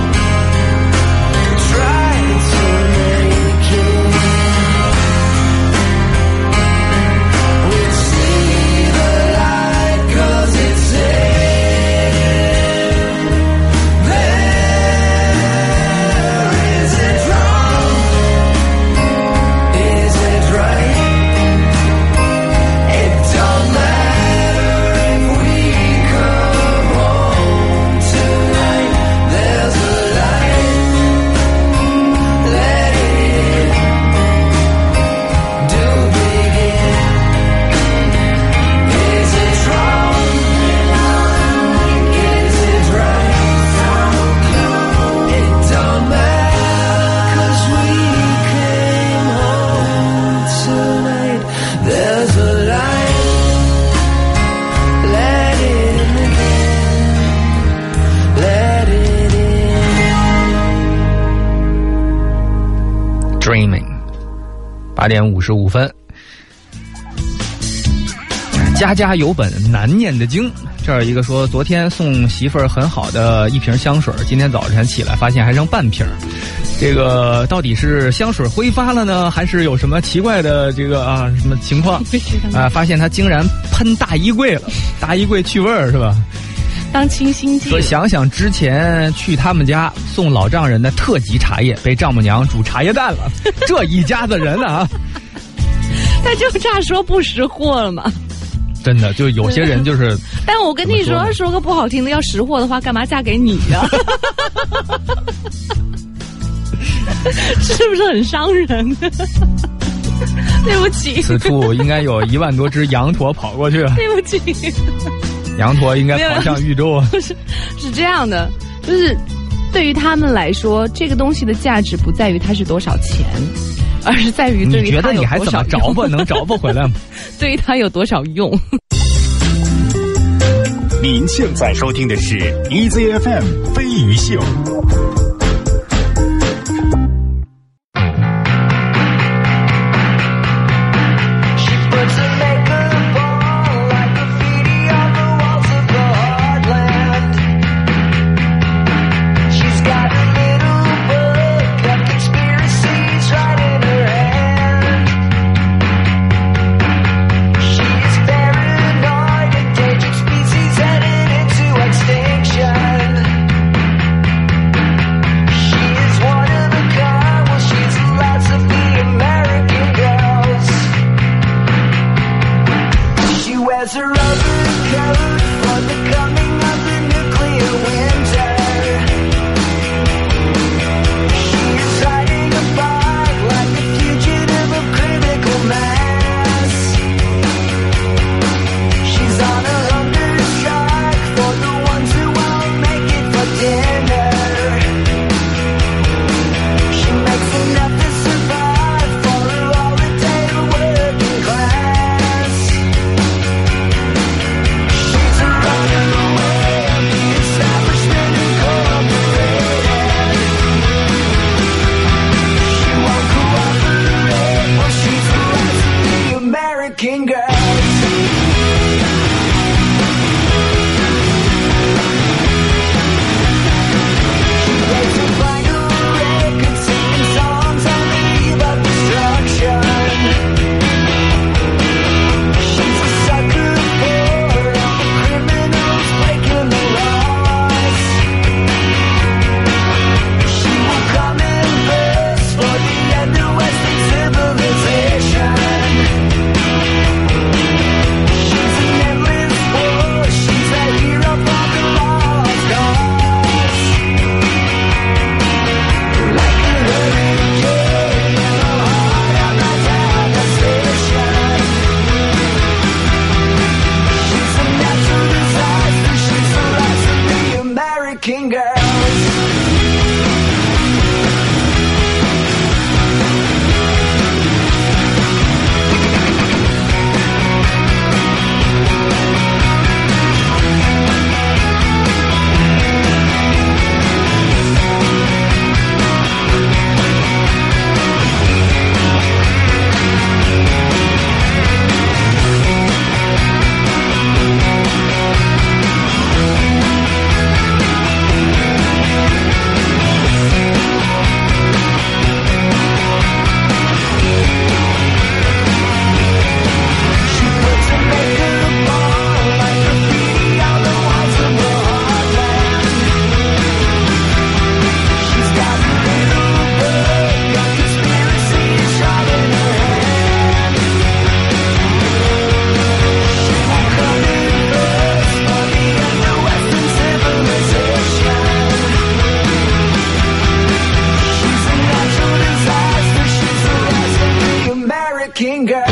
Try to make it. We see the light 'cause it's in there. Is it wrong? Is it right? It don't matter if we come home tonight. There's a light. Let it in. Do begin. Is it wrong? Is it right? It don't matter 'cause we came home tonight. There's a light. Let it in again. Let it in. Dreaming 8点55分。家家有本难念的经。这儿一个说，昨天送媳妇儿很好的一瓶香水，今天早晨起来发现还剩半瓶。这个到底是香水挥发了呢，还是有什么奇怪的这个什么情况啊？发现他竟然喷大衣柜了，大衣柜去味儿是吧？ 当清新剂。 说想想之前去他们家送老丈人的特级茶叶，被丈母娘煮茶叶蛋了，这一家子人啊！ 他就差说不识货了嘛。 真的，就有些人就是。 但我跟你说个不好听的，要识货的话，干嘛嫁给你呀？是不是很伤人？对不起， 此处应该有1万多只羊驼跑过去了。 对不起， 羊驼应该跑向豫州啊。 是这样的，就是对于他们来说，这个东西的价值不在于它是多少钱，而是在于对于它有多少用。你觉得你还怎么着吧？能着吧回来吗？对于它有多少用？ 您现在收听的是 EZFM 飞鱼秀。 She's got a little book of conspiracies. working girls.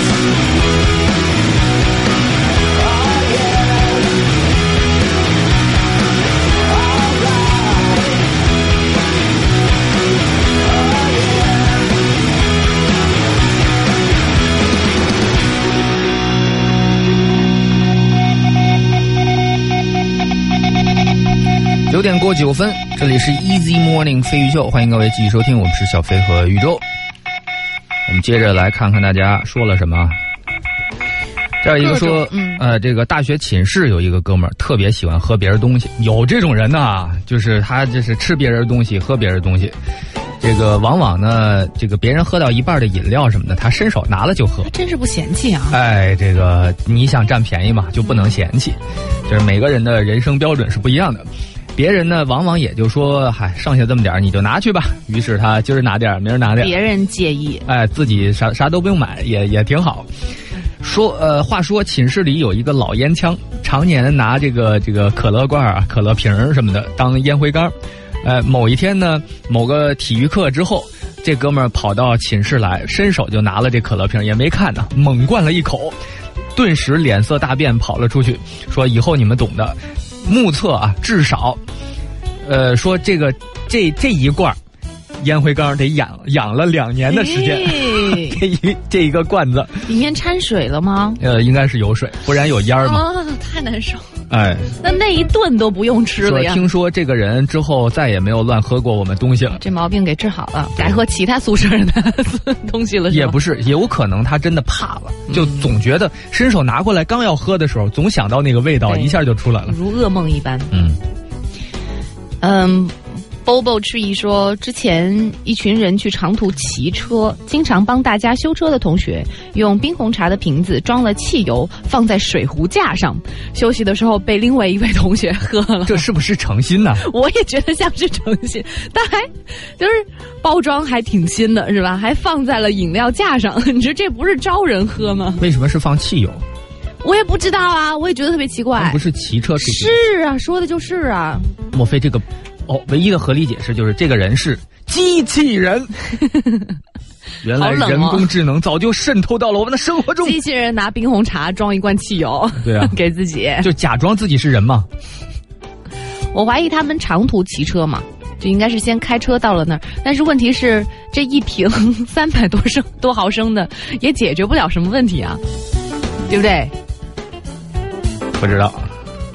9点过9分，这里是 Easy Morning 飞鱼秀，欢迎各位继续收听，我们是小飞和宇宙。我们接着来看看大家说了什么。这儿一个说，这个大学寝室有一个哥们儿特别喜欢喝别人东西，有这种人呐，就是他就是吃别人东西，喝别人东西。这个往往呢，这个别人喝到一半的饮料什么的，他伸手拿了就喝， 真是不嫌弃啊！ 哎，这个你想占便宜嘛，就不能嫌弃，就是每个人的人生标准是不一样的。别人呢，往往也就说，嗨，剩下这么点你就拿去吧。于是他今儿拿点，明儿拿点。 别人介意， 哎，自己啥都不用买，也挺好。话说寝室里有一个老烟枪，常年拿这个可乐罐啊、可乐瓶什么的当烟灰缸。某一天呢，某个体育课之后，这哥们儿跑到寝室来，伸手就拿了这可乐瓶，也没看呢，猛灌了一口，顿时脸色大变，跑了出去，说以后你们懂的。目测啊，至少，说这一罐烟灰缸得养了2年的时间，这一个罐子里面掺水了吗？ 应该是有水，不然有烟儿嘛。 哦，太难受。 哎， 那一顿都不用吃了呀。 听说这个人之后再也没有乱喝过我们东西了， 这毛病给治好了，改喝其他宿舍的东西了是吧？ 也不是，有可能他真的怕了，就总觉得伸手拿过来刚要喝的时候，总想到那个味道，一下就出来了， 如噩梦一般。Bobo Tree 说，之前一群人去长途骑车，经常帮大家修车的同学用冰红茶的瓶子装了汽油，放在水壶架上，休息的时候被另外一位同学喝了。 这是不是诚心呢？ 我也觉得像是诚心，但还就是包装还挺新的，是吧？还放在了饮料架上，你说这不是招人喝吗？ 为什么是放汽油？ 我也不知道啊，我也觉得特别奇怪。 不是骑车是啊，说的就是啊。 莫非这个？唯一的合理解释就是这个人是机器人。原来人工智能早就渗透到了我们的生活中。 机器人拿冰红茶装一罐汽油， 对啊， 给自己， 就假装自己是人嘛。 我怀疑他们长途骑车嘛，就应该是先开车到了那儿。但是问题是，这一瓶300多毫升的也解决不了什么问题啊，对不对？ 不知道。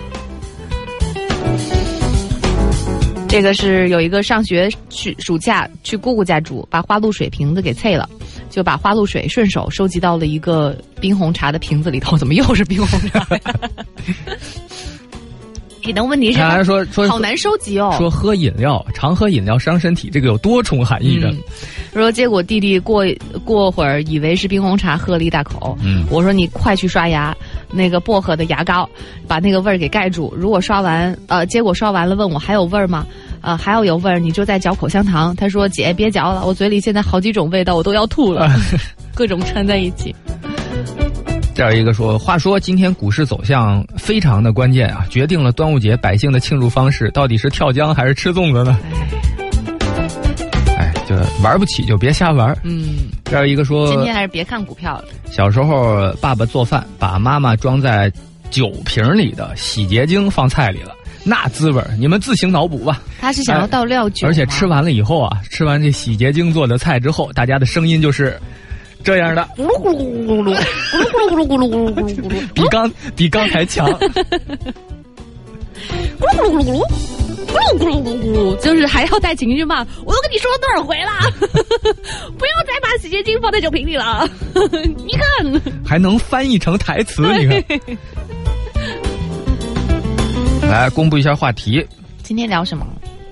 这个是有一个上学去暑假去姑姑家住，把花露水瓶子给碎了，就把花露水顺手收集到了一个冰红茶的瓶子里头。怎么又是冰红茶呀？但问题是， 说好难收集哦。 说喝饮料，常喝饮料伤身体，这个有多重含义的。 说结果弟弟过会儿以为是冰红茶，喝了一大口。我说你快去刷牙，那个薄荷的牙膏把那个味儿给盖住。如果刷完，结果刷完了问我还有味儿吗？还要有味儿你就再嚼口香糖。他说姐别嚼了，我嘴里现在好几种味道，我都要吐了，各种掺在一起。 这样一个说，话说今天股市走向非常的关键啊，决定了端午节百姓的庆祝方式，到底是跳江还是吃粽子呢？就玩不起就别瞎玩。这样一个说， 今天还是别看股票了。 小时候爸爸做饭，把妈妈装在酒瓶里的洗洁精放菜里了，那滋味你们自行脑补吧。 他是想要倒料酒， 而且吃完了以后啊，吃完这洗洁精做的菜之后，大家的声音就是这样的，咕噜咕噜咕噜咕噜咕噜咕噜咕噜咕噜咕噜咕噜，比刚才强。咕噜咕噜咕噜咕噜咕噜咕噜咕噜，就是还要带情绪嘛？我都跟你说了多少回了，不要再把洗洁精放在酒瓶里了。你看， 还能翻译成台词，你看。来公布一下话题， 今天聊什么？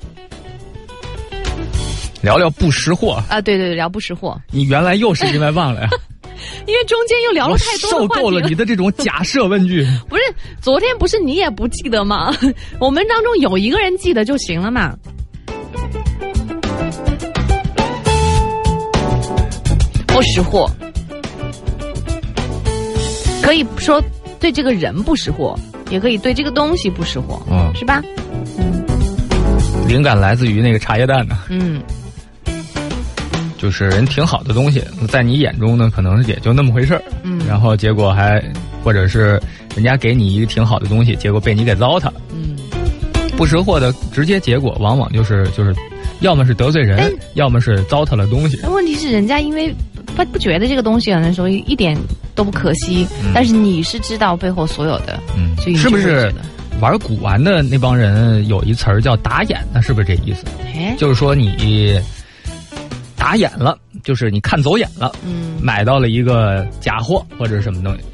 聊聊不识货啊！对，聊不识货。 你原来又是因为忘了呀？ 因为中间又聊了太多的话题了。 受够了你的这种假设问句。 不是，昨天不是你也不记得吗？我们当中有一个人记得就行了嘛。不识货，可以说对这个人不识货，也可以对这个东西不识货，是吧？ 灵感来自于那个茶叶蛋呢。 就是人挺好的东西，在你眼中呢，可能也就那么回事儿。然后结果还或者是人家给你一个挺好的东西，结果被你给糟蹋。不识货的直接结果往往就是要么是得罪人，要么是糟蹋了东西。 问题是人家因为不觉得这个东西可能说一点都不可惜，但是你是知道背后所有的，所以你是不是玩古玩的那帮人有一词儿叫打眼呢？是不是这意思？就是说你打眼了，就是你看走眼了，买到了一个假货或者什么东西。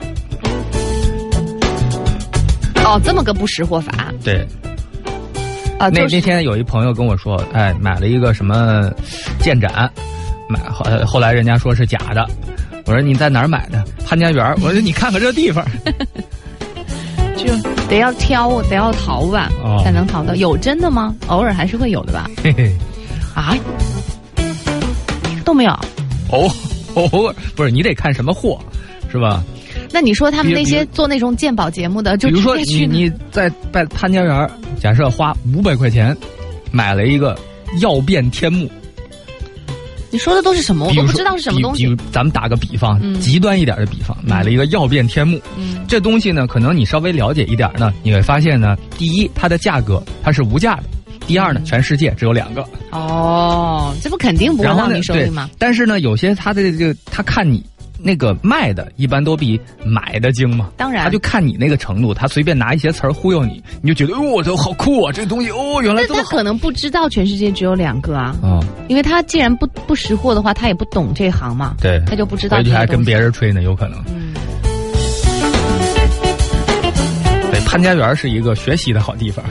哦，这么个不识货法。 对。那天有一朋友跟我说，买了一个什么剑斩，后来人家说是假的。我说你在哪儿买的？潘家园。我说你看看这地方。 就得要挑，得要淘吧，才能淘到。有真的吗？偶尔还是会有的吧。 嘿嘿。 啊？都没有。 偶尔不是，你得看什么货，是吧？ 那你说他们那些做那种鉴宝节目的，就比如说你在潘家园，假设花500块钱买了一个曜变天目， 你说的都是什么？我都不知道是什么东西。 咱们打个比方，极端一点的比方，买了一个曜变天目，这东西呢，可能你稍微了解一点呢，你会发现呢，第一，它的价格它是无价的；第二呢，全世界只有2个。 哦，这不肯定不会到你手里吗？ 但是呢，有些他的这个，他看你那个卖的一般都比买的精嘛， 当然， 他就看你那个程度，他随便拿一些词儿忽悠你，你就觉得我这好酷啊，这东西原来这么好。 他可能不知道全世界只有2个啊，因为他既然不识货的话，他也不懂这行嘛， 对， 他就不知道。 而且还跟别人吹呢，有可能。对，潘家园是一个学习的好地方。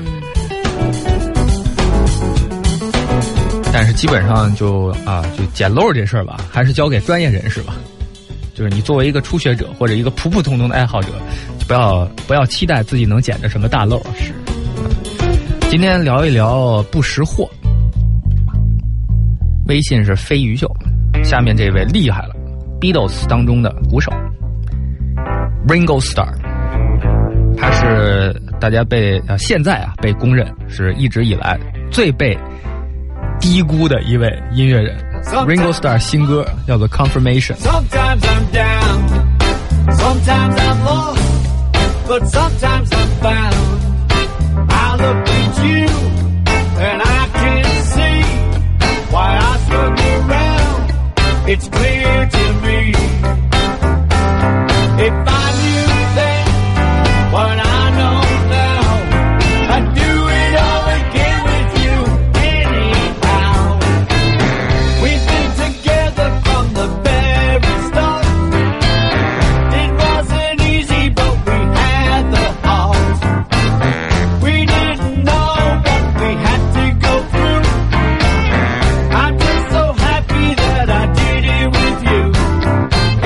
但是基本上就捡漏这事儿吧，还是交给专业人士吧。就是你作为一个初学者或者一个普普通通的爱好者，不要期待自己能捡着什么大漏。是。今天聊一聊不识货。微信是飞鱼秀，下面这位厉害了 ，Beatles 当中的鼓手 Ringo Starr， 他是大家现在被公认是一直以来最被低估的一位音乐人。Ringo Starr 新歌叫做 Confirmation。 Sometimes I'm down, sometimes I'm lost, but sometimes I'm found. I look at you and I can see why I struggle around. It's clear to me. If I knew then what I know now, I'd do it all again with you anyhow. We've been together from the very start. It wasn't easy, but we had the heart. We didn't know what we had to go through. I'm just so happy that I did it with you.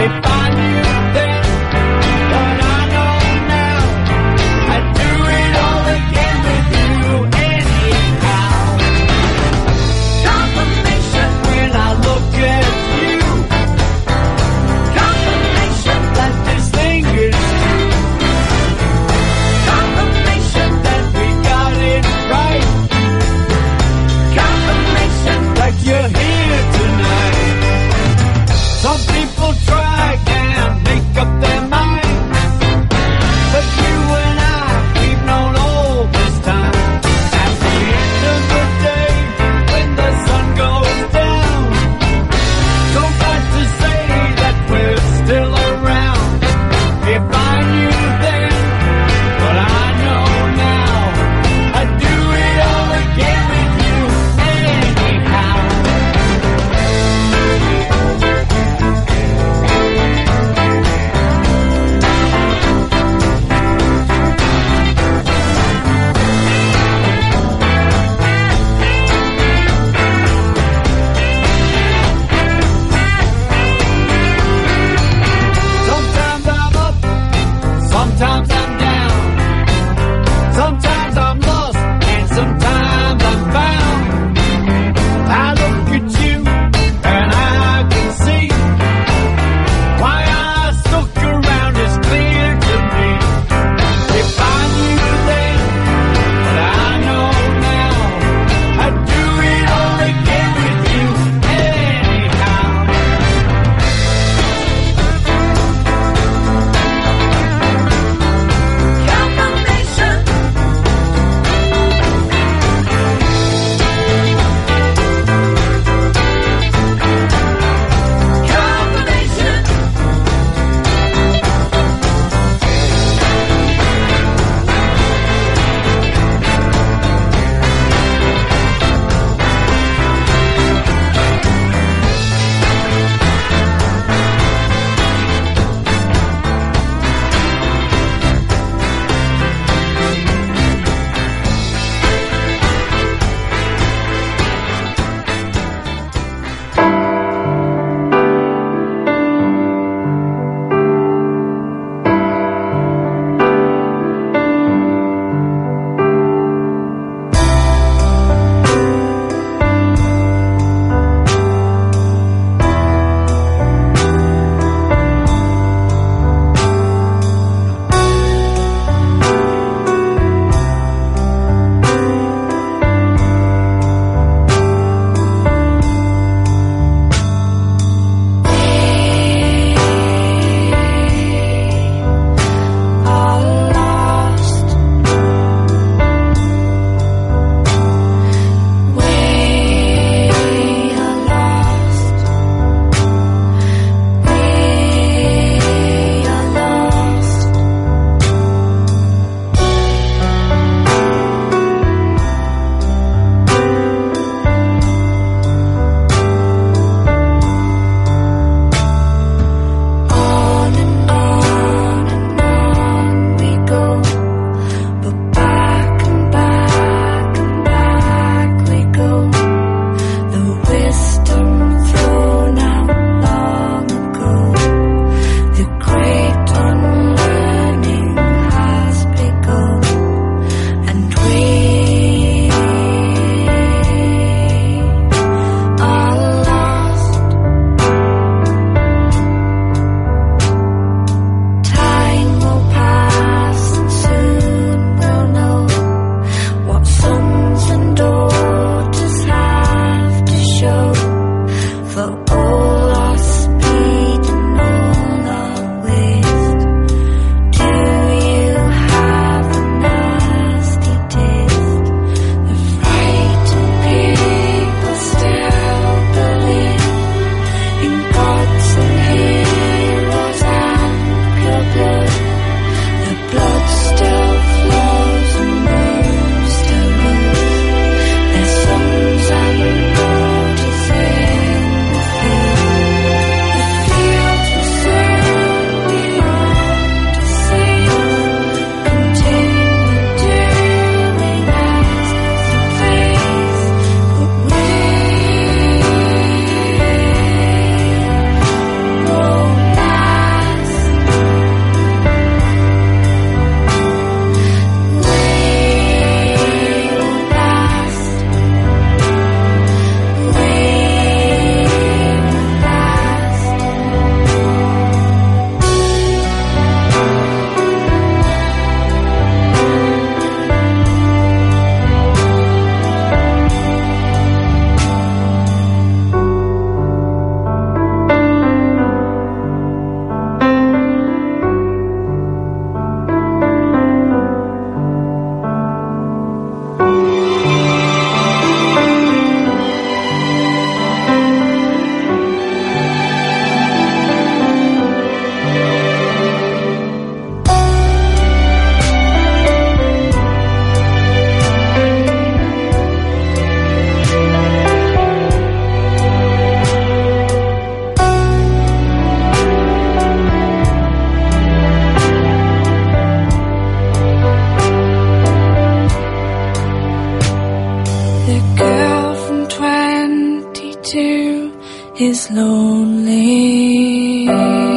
is lonely.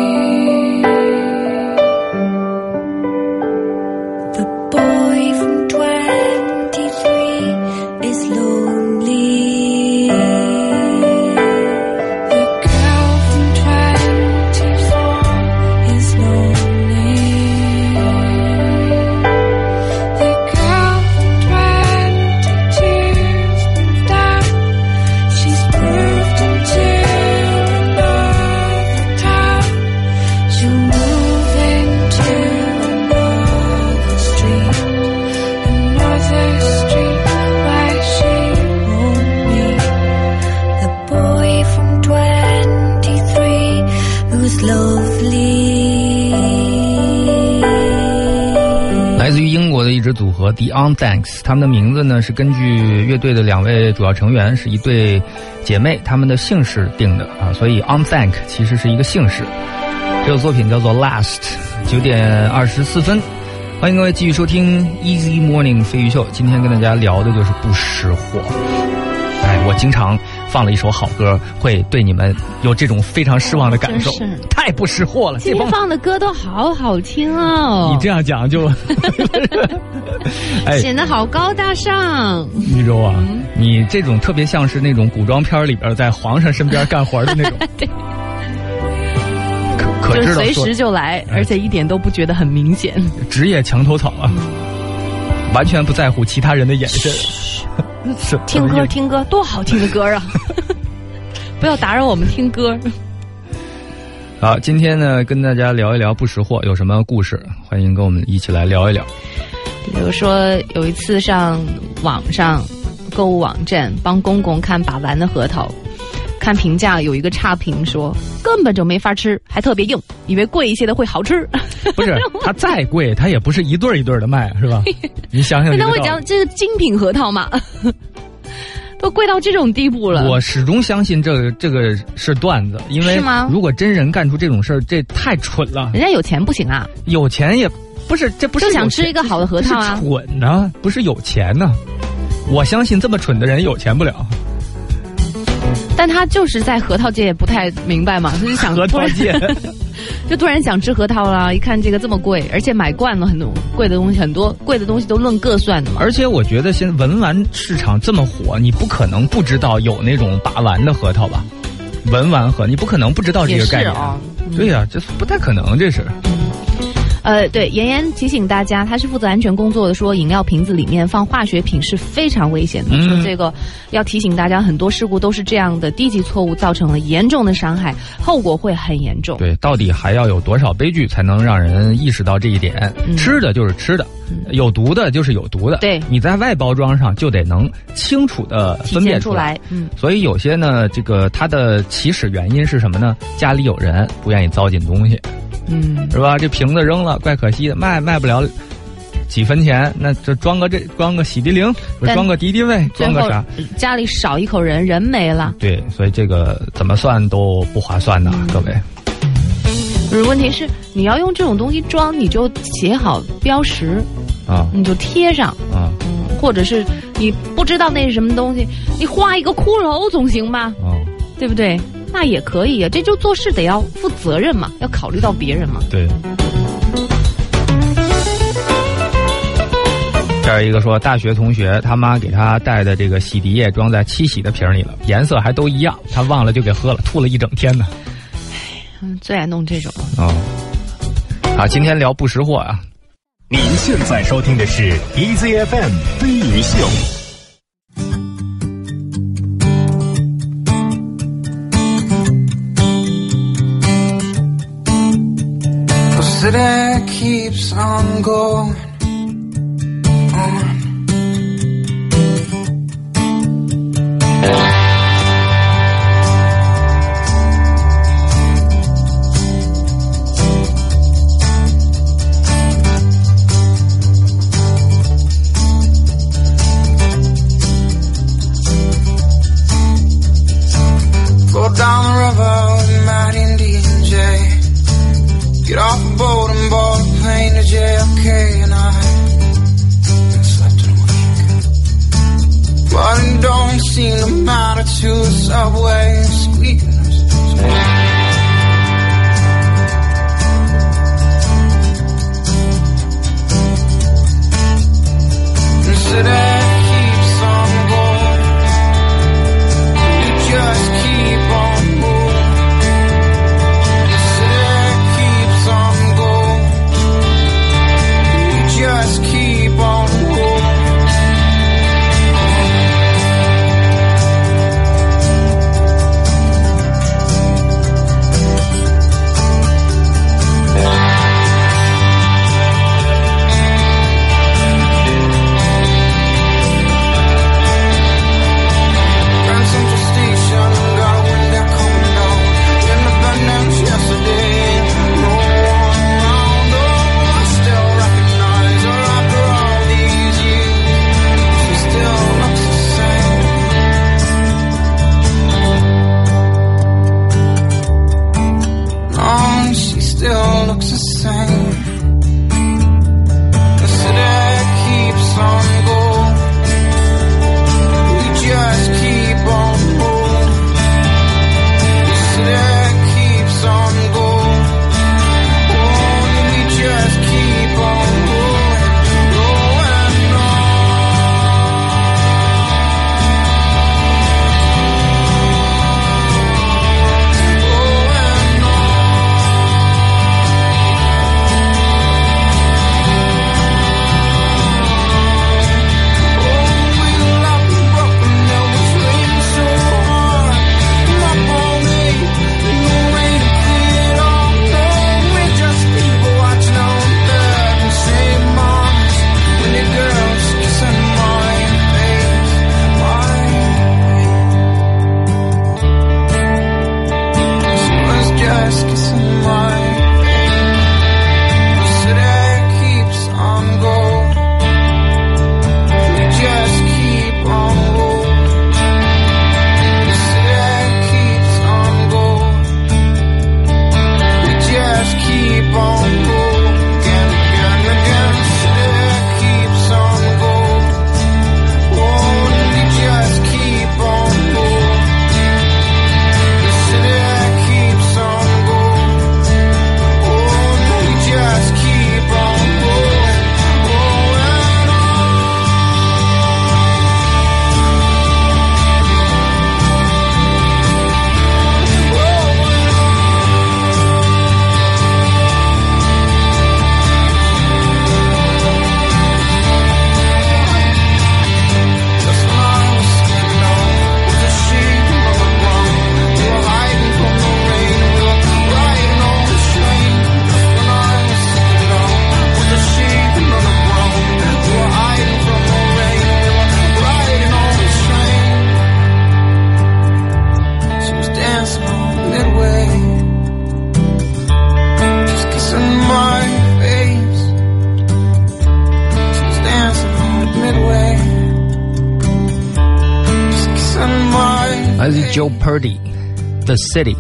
The boy from 23 is lonely. The girl from 24 is lonely. The girl from 22's moved out. She's moved into another town. She'll move into another street where she won't meet the boy from 23 who's lovely. 来自于英国的一支组合 The Onthanks， 他们的名字呢是根据乐队的2位主要成员是一对姐妹，她们的姓氏定的啊，所以 Onthank 其实是一个姓氏。这首作品叫做 Last， 9点24分。欢迎各位继续收听 Easy Morning 飞鱼秀，今天跟大家聊的就是不识货。我经常放了一首好歌，会对你们有这种非常失望的感受， 真是太不识货了。 今天放的歌都好好听哦， 你这样讲就显得好高大上。 玉州啊，你这种特别像是那种古装片里边在皇上身边干活的那种。 对， 可就知道说随时就来，而且一点都不觉得很明显。 职业墙头草啊，完全不在乎其他人的眼神。 听歌听歌，多好听的歌啊！不要打扰我们听歌。 好，今天呢跟大家聊一聊不识货有什么故事，欢迎跟我们一起来聊一聊。 比如说有一次上网上购物网站帮公公看把玩的核桃，看评价有一个差评说根本就没法吃，还特别硬，以为贵一些的会好吃。 不是，它再贵它也不是一对一对的卖，是吧？你想想这个道理。 那我讲这是精品核桃嘛，都贵到这种地步了。 我始终相信这个是段子，因为如果真人干出这种事儿，这太蠢了。 人家有钱不行啊， 有钱也不是，这不是就想吃一个好的核桃啊， 是蠢呢，不是有钱呢。我相信这么蠢的人有钱不了。 但他就是在核桃界不太明白嘛，就是想核桃界就突然想吃核桃了，一看这个这么贵，而且买惯了很多贵的东西，很多贵的东西都论个算的嘛。 而且我觉得现在文玩市场这么火，你不可能不知道有那种把玩的核桃吧？文玩核，你不可能不知道这个概念。对呀，这不太可能，这是。 对，妍妍提醒大家，他是负责安全工作的，说饮料瓶子里面放化学品是非常危险的。说这个要提醒大家，很多事故都是这样的，低级错误造成了严重的伤害，后果会很严重。 对，到底还要有多少悲剧才能让人意识到这一点？吃的就是吃的，有毒的就是有毒的。 对， 你在外包装上就得能清楚的分辨出来。所以有些呢，这个它的起始原因是什么呢？家里有人不愿意糟践东西。是吧？这瓶子扔了，怪可惜的，卖不了几分钱，那这装个洗涤灵，装个敌敌畏，装个啥？ 家里少一口人，人没了。 对，所以这个怎么算都不划算的，各位。 问题是你要用这种东西装，你就写好标识啊，你就贴上啊，或者是你不知道那是什么东西，你画一个骷髅总行吧？对不对？那也可以啊，这就做事得要负责任嘛，要考虑到别人嘛。 对。这儿一个说，大学同学他妈给他带的这个洗涤液装在七喜的瓶里了，颜色还都一样，他忘了就给喝了，吐了一整天呢。 最爱弄这种。 好，今天聊不识货啊。 您现在收听的是 Easy FM 飞鱼秀。 City keeps on going on. Go down the river with Matt Indian Jay. Get off a boat and board a plane to JFK, and I haven't slept in a week. But it don't seem to matter to the subway squeaking. Joe Purdy，The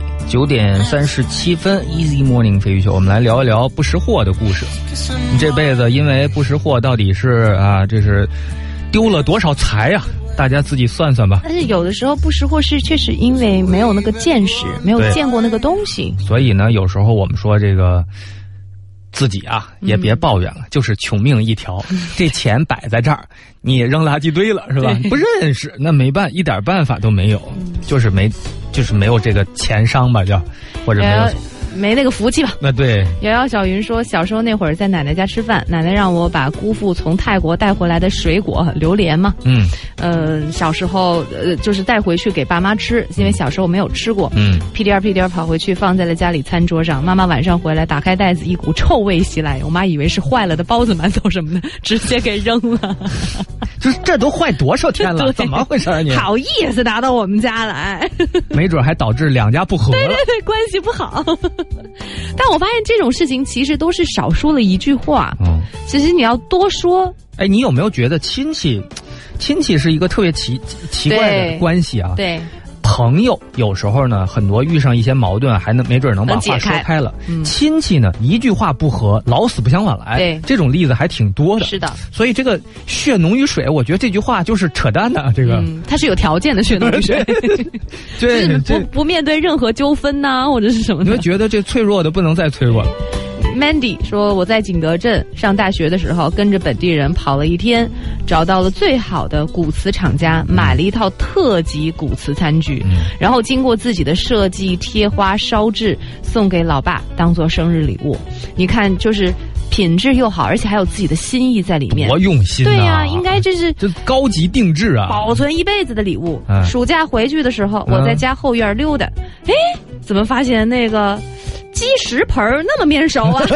City。9:37 ，Easy Morning 飞鱼秀，我们来聊一聊不识货的故事。你这辈子因为不识货，到底是这是丢了多少财呀？大家自己算算吧。 但是有的时候不识货是确实因为没有那个见识，没有见过那个东西。 所以呢，有时候我们说这个自己也别抱怨了，就是穷命一条。这钱摆在这儿，你扔垃圾堆了是吧？不认识，那一点办法都没有，就是没有这个钱商吧，叫或者没那个福气吧。 那对。 瑶瑶小云说，小时候那会儿在奶奶家吃饭，奶奶让我把姑父从泰国带回来的水果榴莲嘛，小时候就是带回去给爸妈吃，因为小时候没有吃过，屁颠儿跑回去放在了家里餐桌上。妈妈晚上回来打开袋子，一股臭味袭来，我妈以为是坏了的包子、馒头什么的，直接给扔了。 就是这都坏多少天了？怎么回事你？ 好意思拿到我们家来？ 没准还导致两家不和了。 对，关系不好。但我发现这种事情其实都是少说了一句话。其实你要多说。 哎，你有没有觉得亲戚是一个特别奇怪的关系啊？ 对。 朋友有时候呢，很多遇上一些矛盾，还没准能把话说开了。亲戚呢，一句话不合，老死不相往来。 对， 这种例子还挺多的。 是的， 所以这个血浓于水，我觉得这句话就是扯淡的。这个， 它是有条件的血浓于水。 对， 就是不面对任何纠纷呐，或者是什么的。 你会觉得这脆弱的不能再脆弱了。 Mandy 说，我在景德镇上大学的时候，跟着本地人跑了一天，找到了最好的古瓷厂家，买了一套特级古瓷餐具，然后经过自己的设计、贴花、烧制，送给老爸当做生日礼物。你看，就是品质又好，而且还有自己的心意在里面， 多用心啊！ 对呀，应该这高级定制啊， 保存一辈子的礼物。暑假回去的时候，我在家后院溜达，怎么发现那个鸡食盆那么面熟啊？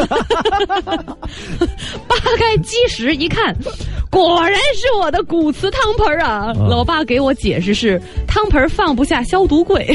扒开鸡食一看，果然是我的古瓷汤盆啊！老爸给我解释是汤盆放不下消毒柜。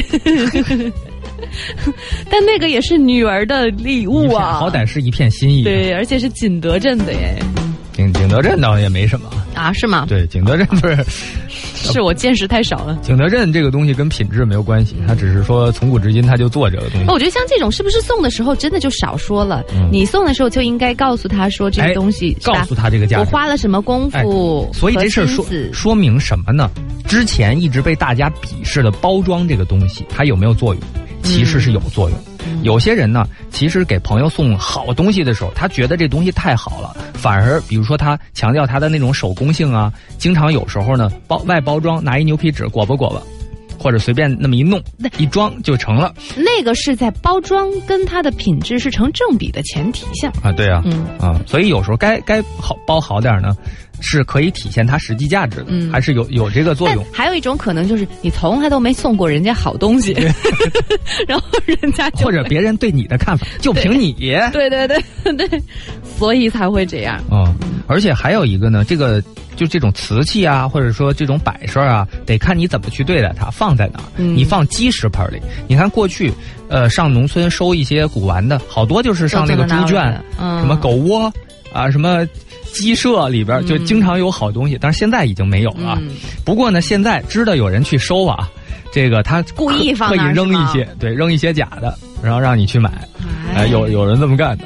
但那个也是女儿的礼物啊， 好歹是一片心意。 对，而且是景德镇的耶。 景德镇倒也没什么啊，是吗？ 对，景德镇不是， 是我见识太少了。 景德镇这个东西跟品质没有关系，它只是说从古至今它就做这个东西。 我觉得像这种是不是送的时候真的就少说了？你送的时候就应该告诉他说这个东西， 告诉他这个价值， 我花了什么功夫。 所以这事说明什么呢？之前一直被大家鄙视的包装这个东西，它有没有作用？其实是有作用。有些人呢，其实给朋友送好东西的时候，他觉得这东西太好了，反而比如说他强调他的那种手工性啊，经常有时候呢外包装拿一牛皮纸裹吧，或者随便那么一弄一装就成了。 那个是在包装跟它的品质是成正比的前提下啊，对啊，所以有时候该包好点呢，是可以体现它实际价值的，还是有这个作用。 还有一种可能就是你从来都没送过人家好东西，然后人家就或者别人对你的看法就凭你， 对，所以才会这样。 而且还有一个呢，就这种瓷器啊，或者说这种摆设啊，得看你怎么去对待它，放在哪儿。你放鸡食盆里，你看过去，上农村收一些古玩的，好多就是上那个猪圈，什么狗窝啊，什么鸡舍里边就经常有好东西，但是现在已经没有了。不过呢，现在知道有人去收啊，这个他故意放可以扔一些，对，扔一些假的，然后让你去买。有人这么干的。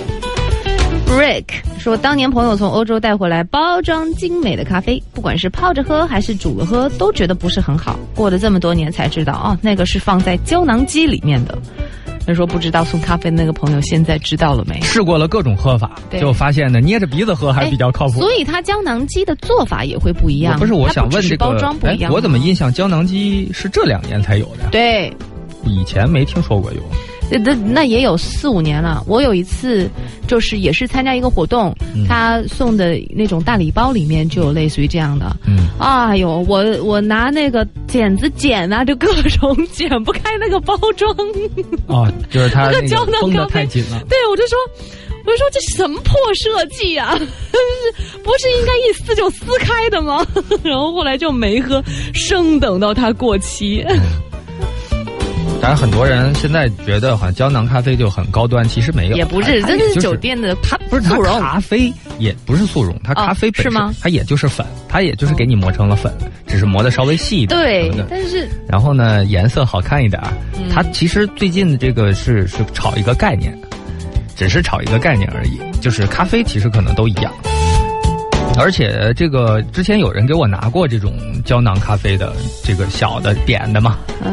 Rick 说，当年朋友从欧洲带回来包装精美的咖啡，不管是泡着喝还是煮了喝，都觉得不是很好。过了这么多年才知道，那个是放在胶囊机里面的。他说不知道送咖啡的那个朋友现在知道了没？ 试过了各种喝法，就发现呢，捏着鼻子喝还是比较靠谱。 所以它胶囊机的做法也会不一样。 不是，我想问这个包装不一样。 我怎么印象胶囊机是这2年才有的？ 对， 以前没听说过有。 那也有4、5年了。我有一次就是也是参加一个活动，他送的那种大礼包里面就有类似于这样的。哎呦，我拿那个剪子剪啊，就各种剪不开那个包装。 就是它那胶囊封得太紧了。 对，我就说这什么破设计啊？不是应该一撕就撕开的吗？然后后来就没喝，生等到它过期。 当然，很多人现在觉得好像胶囊咖啡就很高端，其实没有， 也不是，真的是酒店的它不是它速溶咖啡也不是速溶，它咖啡本身、 是吗？ 它也就是粉，它也就是给你磨成了粉，只是磨的稍微细一点。 对，但是然后呢，颜色好看一点。它其实最近的这个是炒一个概念，只是炒一个概念而已，就是咖啡其实可能都一样。而且这个之前有人给我拿过这种胶囊咖啡的这个小的点的嘛，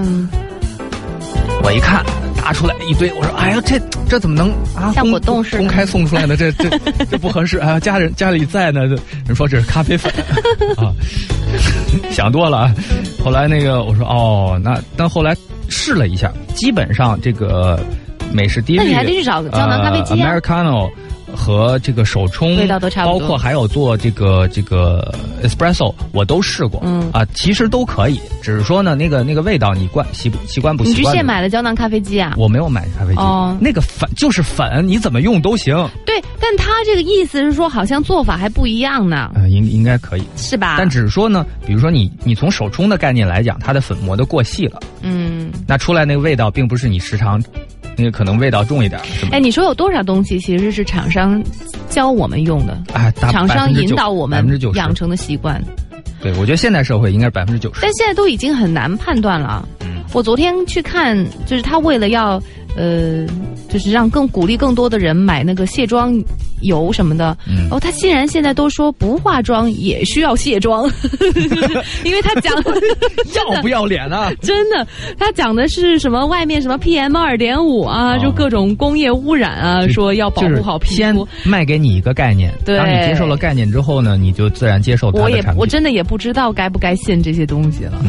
我一看拿出来一堆，我说哎呀这怎么能啊像果冻似的公开送出来的，这不合适啊！家里在呢，人说这是咖啡粉啊，想多了啊。后来那个我说哦，但后来试了一下，基本上这个美式低滤， 那你还得去找胶囊咖啡机啊。 Americano 和这个手冲味道都差不多， 包括还有做这个 espresso 我都试过，其实都可以，只是说呢那个味道你习惯不习惯？ 你去现买了胶囊咖啡机啊？ 我没有买咖啡机，那个粉就是粉，你怎么用都行。 对，但他这个意思是说好像做法还不一样呢。 应该可以是吧？ 但只是说呢，比如说你从手冲的概念来讲，它的粉磨得过细了，那出来那个味道并不是你时常。那个可能味道重一点，是吧？ 你说有多少东西其实是厂商教我们用的？厂商引导我们养成的习惯。 对，我觉得现代社会应该是90%。 但现在都已经很难判断了。我昨天去看，就是他为了要就是让鼓励更多的人买那个卸妆油什么的，他竟然现在都说不化妆也需要卸妆，因为他讲要不要脸啊？ 真的，他讲的是什么外面什么 PM2.5啊，就各种工业污染啊，说要保护好皮肤。 先卖给你一个概念， 对， 当你接受了概念之后呢，你就自然接受它的产品。 我真的也不知道该不该信这些东西了。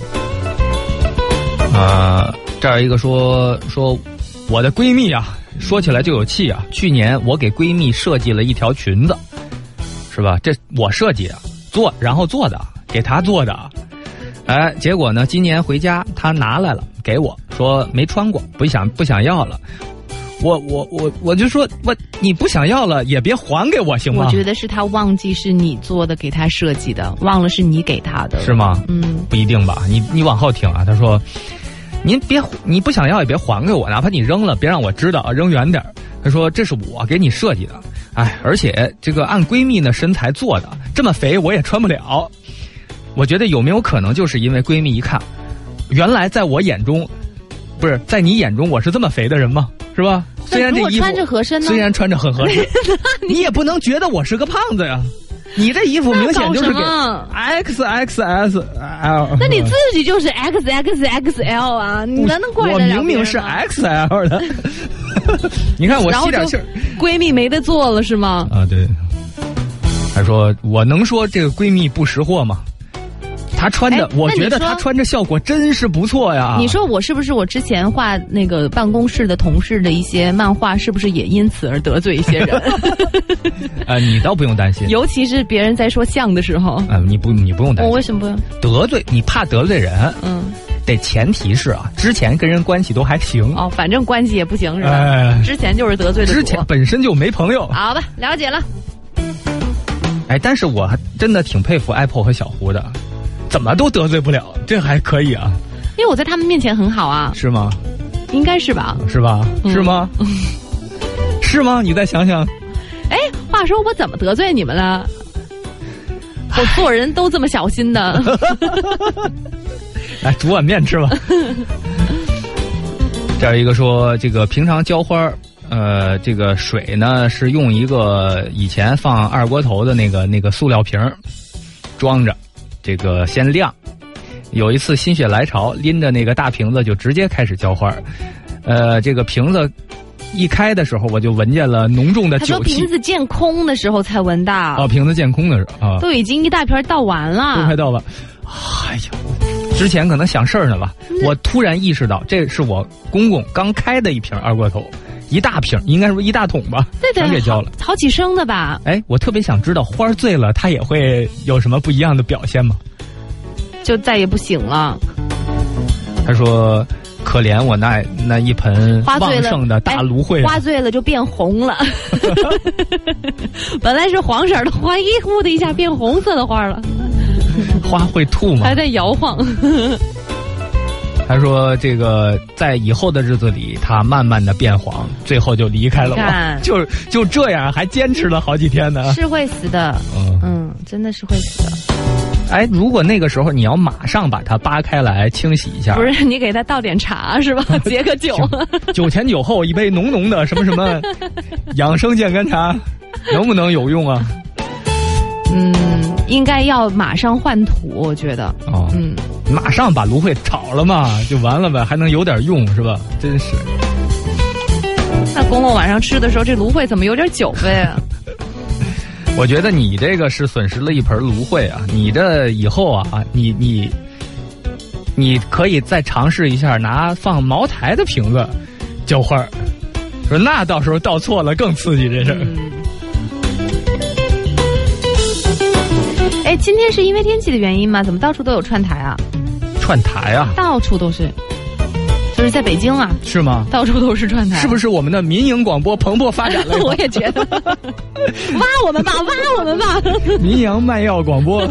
这儿一个说我的闺蜜啊，说起来就有气啊。去年我给闺蜜设计了一条裙子，是吧？这我设计的，然后做的，给她做的。结果呢，今年回家她拿来了给我，说没穿过，不想要了。我就说你不想要了也别还给我行吗？ 我觉得是他忘记是你做的，给他设计的，忘了是你给他的， 是吗？不一定吧。你往后听啊，他说。你不想要也别还给我，哪怕你扔了，别让我知道啊，扔远点。他说这是我给你设计的，而且这个按闺蜜的身材做的，这么肥我也穿不了。我觉得有没有可能就是因为闺蜜一看，原来在我眼中，不是在你眼中我是这么肥的人吗？是吧？虽然这衣服穿着合身呢， 虽然穿着很合身，你也不能觉得我是个胖子呀。你这衣服明显就是给 XXSL， 那你自己就是 XXXL 啊！你能怪得了别人吗？ 我明明是 XL 的。你看我吸点气儿， 闺蜜没得做了是吗？ 对。还说我能说这个闺蜜不识货吗？她穿着，我觉得她穿着效果真是不错呀。 你说我是不是我之前画那个办公室的同事的一些漫画，是不是也因此而得罪一些人？ 你倒不用担心， 尤其是别人在说像的时候。 你不用担心。 我为什么不用？ 得罪你怕得罪人？得前提是之前跟人关系都还行。 反正关系也不行是吧？之前就是得罪的。 之前本身就没朋友。 好吧，了解了。 但是我还真的挺佩服 Apple 和小胡的。怎么都得罪不了，这还可以啊？ 因为我在他们面前很好啊。 是吗？ 应该是吧？ 是吧？是吗？是吗？你再想想。 话说我怎么得罪你们了？我做人都这么小心的。 来煮碗面吃吧。这儿一个说，这个平常浇花，这个水呢是用一个以前放二锅头的那个塑料瓶装着。这个先晾，有一次心血来潮，拎着那个大瓶子就直接开始浇花。这个瓶子一开的时候，我就闻见了浓重的酒气。他说瓶子见空的时候才闻到。 瓶子见空的时候都已经一大瓶倒完了。 都快倒完。哎呀，之前可能想事儿呢吧。我突然意识到，这是我公公刚开的一瓶二锅头。一大瓶，应该说一大桶吧，全给浇了， 好几升的吧。 我特别想知道花醉了，它也会有什么不一样的表现吗？ 就再也不醒了。 他说：“可怜我那一盆旺盛的大芦荟， 花醉了就变红了。本来是黄色的花，呼的一下变红色的花了。 花会吐吗？ 还在摇晃。” 他说这个在以后的日子里，他慢慢的变黄，最后就离开了我。就这样，还坚持了好几天呢。 是会死的，真的是会死的。 哎，如果那个时候你要马上把它扒开来清洗一下， 不是你给他倒点茶是吧？解个酒， 酒前酒后一杯浓浓的什么什么养生健肝茶，能不能有用啊？ 应该要马上换土，我觉得。 马上把芦荟炒了嘛，就完了呗，还能有点用是吧？真是。 那公公晚上吃的时候，这芦荟怎么有点酒味啊？ 我觉得你这个是损失了一盆芦荟啊！你这以后啊，你可以再尝试一下拿放茅台的瓶子浇花，说那到时候倒错了更刺激这事儿。 哎，今天是因为天气的原因吗？怎么到处都有串台啊？ 串台啊？ 到处都是。就是在北京啊， 是吗？ 到处都是串台， 是不是我们的民营广播蓬勃发展了？ 我也觉得，挖我们吧，挖我们吧！ 民营卖药广播。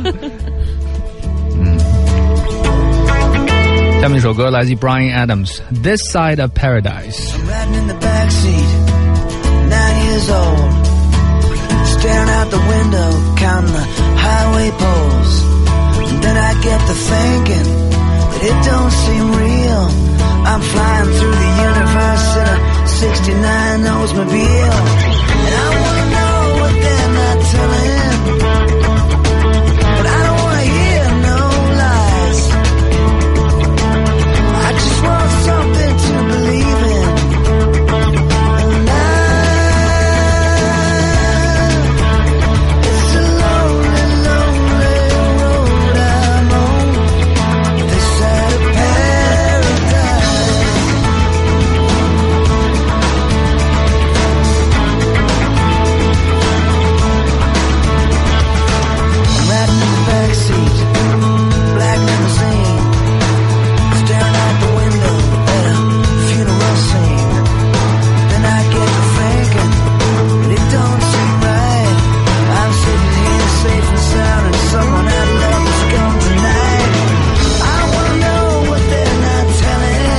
下面一首歌来自 Bryan Adams， This Side of Paradise。 I'm riding in the backseat, 9 years old, staring out the window, counting the highway poles. And then I get to thinking that it don't seem real.I'm flying through the universe in a 69 Oldsmobile. And I wanna know what they're not telling, but I don't wanna hear no lies. I just want something to believe in. And it's a lonely, lonely road I'm on, this side of paradise. Riding in the backseat, black limousine, staring out the window at a funeral scene. Then I get to thinking that it don't seem right. I'm sitting here safe and sound, and someone I love is gone tonight. I wanna know what they're not telling.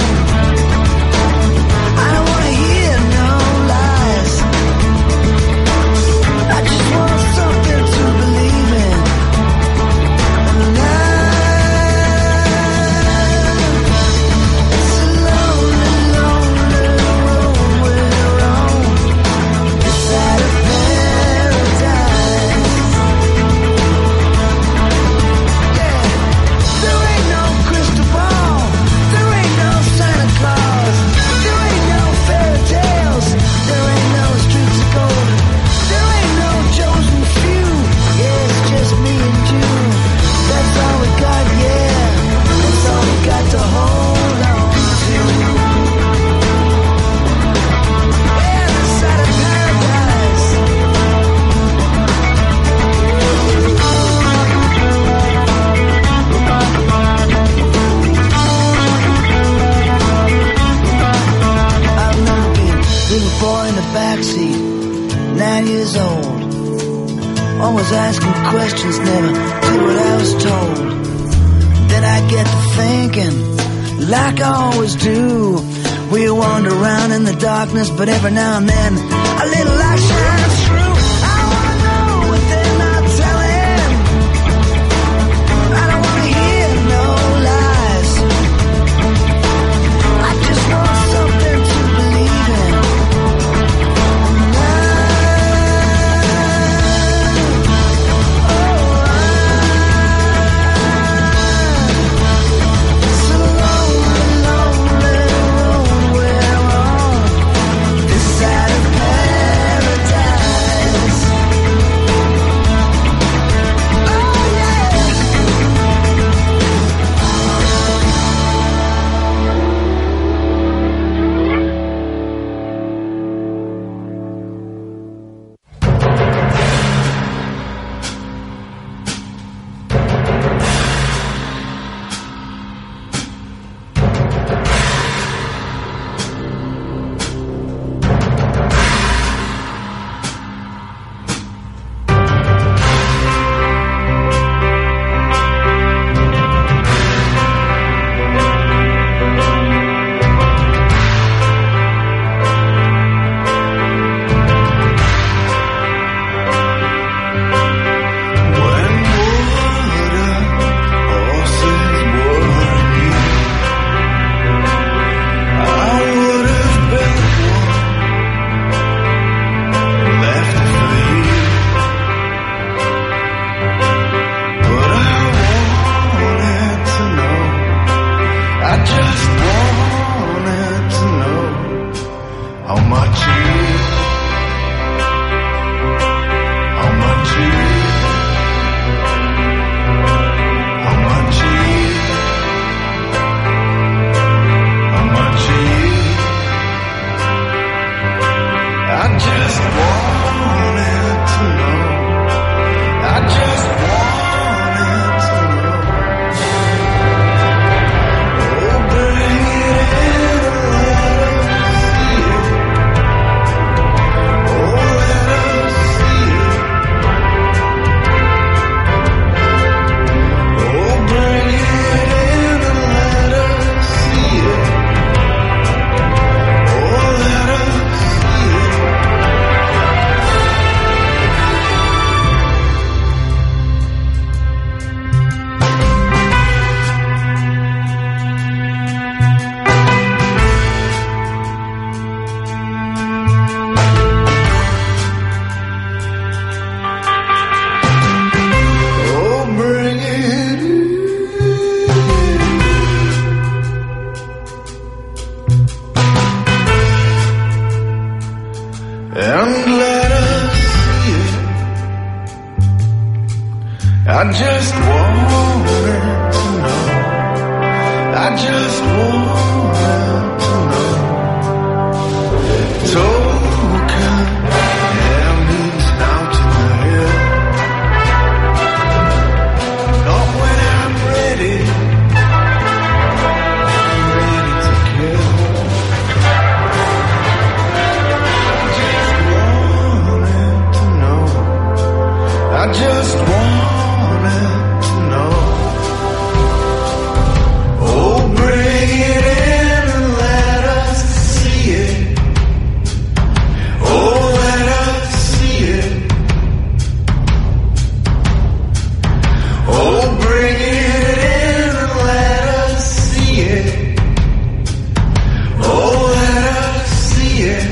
I don't wanna hear no lies. I just want something to believe in. And it's a lonely, lonely road we're on, this side of paradise. Yeah, there ain't no crystal ball, there ain't no Santa Claus, there ain't no fairy tales, there ain't no streets of gold, there ain't no chosen few. Yeah, it's just me and you. That's all we got, yeah. That's all we got to hold on to. Yeah, this side of paradise. I remember being a little boy in the backseat, 9 years old. Always asking questions, never did what I was told. Then I get to thinking, like I always do. We wander around in the darkness, but every now and then a little light shines through. I wanna know what they're not telling. I don't wanna hear no lies. I just want something to believe in. It's a lonely, lonely road we're on, this side of paradise. I just wanted to know. I just wanted to know. Token memories out in my head. Not when I'm ready. I'm ready to kill. I just wanted to know. Oh, bring it in and let us see it. Oh, let us see it. Oh, bring it in and let us see it. Oh, let us see it.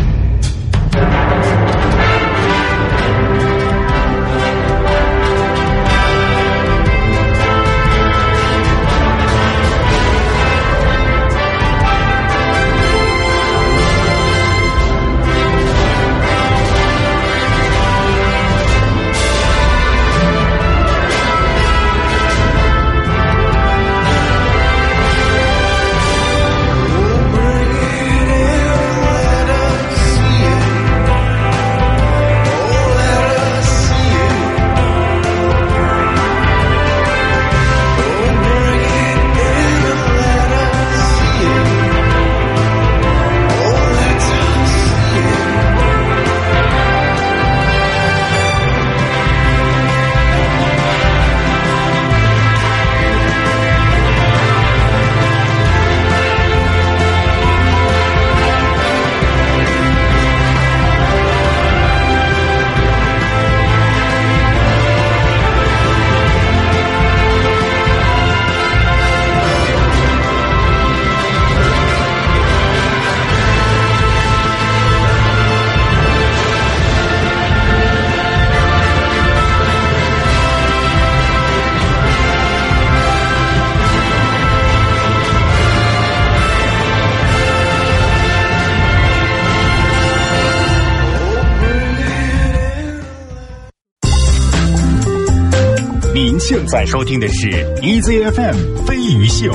您现在收听的是 EZFM 飞鱼秀。